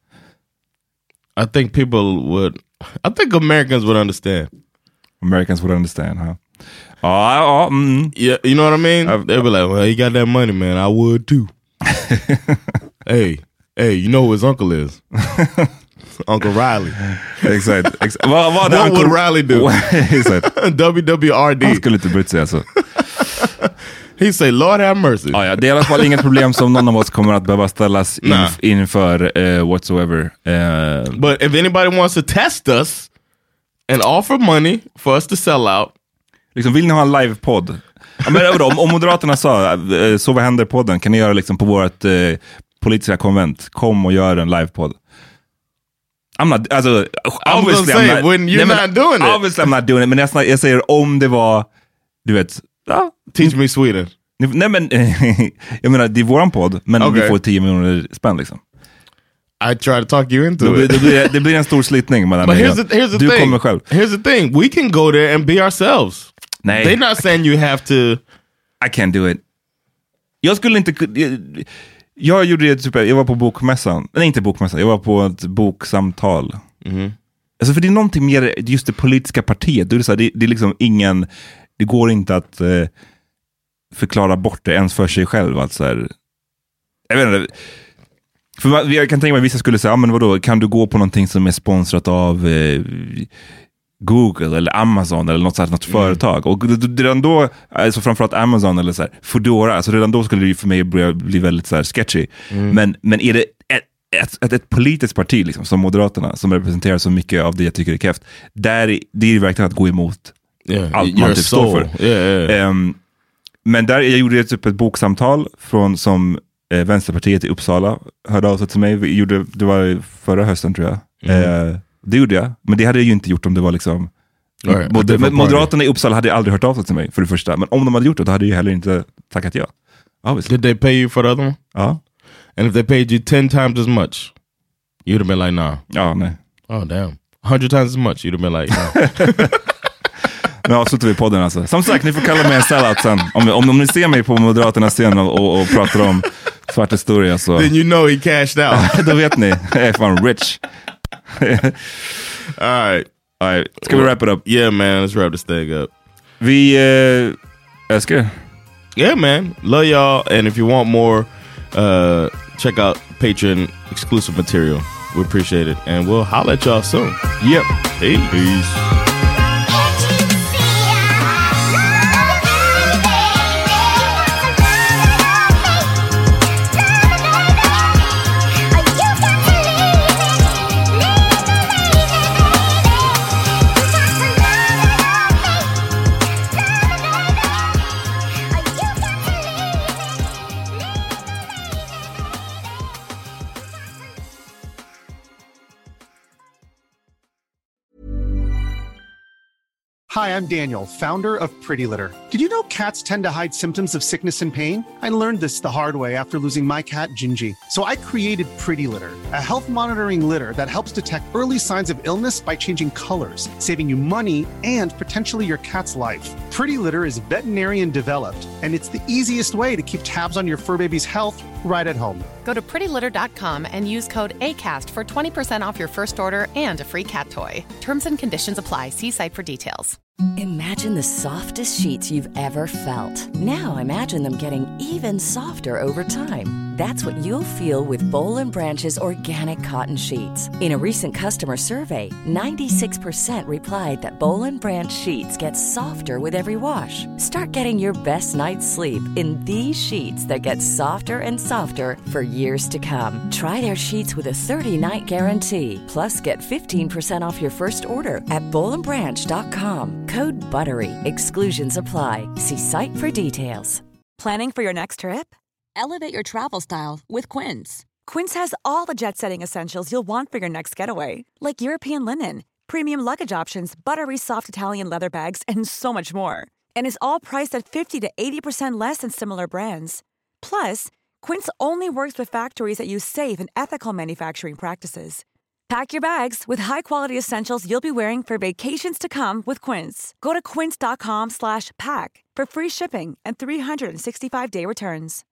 [SPEAKER 6] I think Americans would understand.
[SPEAKER 5] Americans would understand, huh?
[SPEAKER 6] Yeah, you know what I mean? They'd be like, well, he got that money, man. I would too. hey, you know who his uncle is? Uncle Riley.
[SPEAKER 5] Exakt.
[SPEAKER 6] What would Riley do? WWRD.
[SPEAKER 5] Han skulle inte brytt sig alltså.
[SPEAKER 6] He say, Lord have mercy.
[SPEAKER 5] Det är i alla fall inget problem som någon av oss kommer att behöva ställas inför whatsoever.
[SPEAKER 6] But if anybody wants to test us and offer money for us to sell out.
[SPEAKER 5] Liksom, vill ni ha en live-podd? Men om Moderaterna sa, så vad händer podden? Kan ni göra liksom på vårt politiska konvent? Kom och gör en live-podd. Obviously I'm not doing it. Men jag säger om det var, du vet,
[SPEAKER 6] Teach me Sweden.
[SPEAKER 5] Nej men, jag menar, det är våran podd, men vi får 10 miljoner spänn liksom.
[SPEAKER 6] I try to talk you into it.
[SPEAKER 5] Det blir en stor slitning mellan
[SPEAKER 6] But here's the
[SPEAKER 5] du
[SPEAKER 6] thing.
[SPEAKER 5] kommer själv.
[SPEAKER 6] Here's the thing. We can go there and be ourselves.
[SPEAKER 5] Nej.
[SPEAKER 6] They're not saying you have to.
[SPEAKER 5] I can't do it. Jag skulle inte... Jag gjorde det typ, jag var på bokmässan. Nej, inte bokmässan. Jag var på ett boksamtal. Alltså för det är någonting mer just det politiska partiet. Det är liksom ingen... Det går inte att förklara bort det ens för sig själv. Alltså här, jag vet inte. För jag kan tänka mig att vissa skulle säga, men vadå, kan du gå på någonting som är sponsrat av Google eller Amazon eller något företag? Och redan då, alltså framförallt Amazon eller så här, Foodora, alltså redan då skulle det ju för mig bli väldigt så här sketchy. Men är det ett politiskt parti liksom, som Moderaterna, som representerar så mycket av det jag tycker är kräft, där det är verkligen att gå emot allt man typ står för.
[SPEAKER 6] Yeah.
[SPEAKER 5] Men där jag gjorde typ ett boksamtal som Vänsterpartiet i Uppsala hörde av sig till mig. Det var förra hösten tror jag. Det gjorde jag. Men det hade jag ju inte gjort om det var liksom... Moderaterna i Uppsala hade aldrig hört av sig till mig för det första. Men om de hade gjort det, då hade jag heller inte tackat ja. Obviously.
[SPEAKER 6] Did they pay you for the other one?
[SPEAKER 5] Ja.
[SPEAKER 6] And if they paid you 10 times as much, you'd have been like, nah.
[SPEAKER 5] Ja, nej.
[SPEAKER 6] Oh, damn. 100 times as much, you'd have been like, nah.
[SPEAKER 5] Nu avslutar vi podden alltså. Som sagt, ni får kalla mig en sellout sen. Om ni ser mig på Moderaternas scen och pratar om svart historia så...
[SPEAKER 6] Then you know he cashed out.
[SPEAKER 5] Då vet ni. Jag är fan rich.
[SPEAKER 6] All right.
[SPEAKER 5] Ska vi wrap it up?
[SPEAKER 6] Yeah, man. Let's wrap this thing up.
[SPEAKER 5] Vi älskar.
[SPEAKER 6] Yeah, man. Love y'all. And if you want more, check out Patreon exclusive material. We appreciate it. And we'll holler at y'all soon.
[SPEAKER 5] Yep.
[SPEAKER 6] Peace.
[SPEAKER 1] Hi, I'm Daniel, founder of Pretty Litter. Did you know cats tend to hide symptoms of sickness and pain? I learned this the hard way after losing my cat, Gingy. So I created Pretty Litter, a health monitoring litter that helps detect early signs of illness by changing colors, saving you money and potentially your cat's life. Pretty Litter is veterinarian developed, and it's the easiest way to keep tabs on your fur baby's health right at home.
[SPEAKER 2] Go to prettylitter.com and use code ACAST for 20% off your first order and a free cat toy. Terms and conditions apply. See site for details.
[SPEAKER 10] Imagine the softest sheets you've ever felt. Now imagine them getting even softer over time. That's what you'll feel with Boll & Branch's organic cotton sheets. In a recent customer survey, 96% replied that Boll & Branch sheets get softer with every wash. Start getting your best night's sleep in these sheets that get softer and softer for years to come. Try their sheets with a 30-night guarantee. Plus, get 15% off your first order at bollandbranch.com. Code BUTTERY. Exclusions apply. See site for details.
[SPEAKER 13] Planning for your next trip? Elevate your travel style with Quince. Quince has all the jet-setting essentials you'll want for your next getaway, like European linen, premium luggage options, buttery soft Italian leather bags, and so much more. And is all priced at 50 to 80% less than similar brands. Plus, Quince only works with factories that use safe and ethical manufacturing practices. Pack your bags with high-quality essentials you'll be wearing for vacations to come with Quince. Go to quince.com/pack for free shipping and 365-day returns.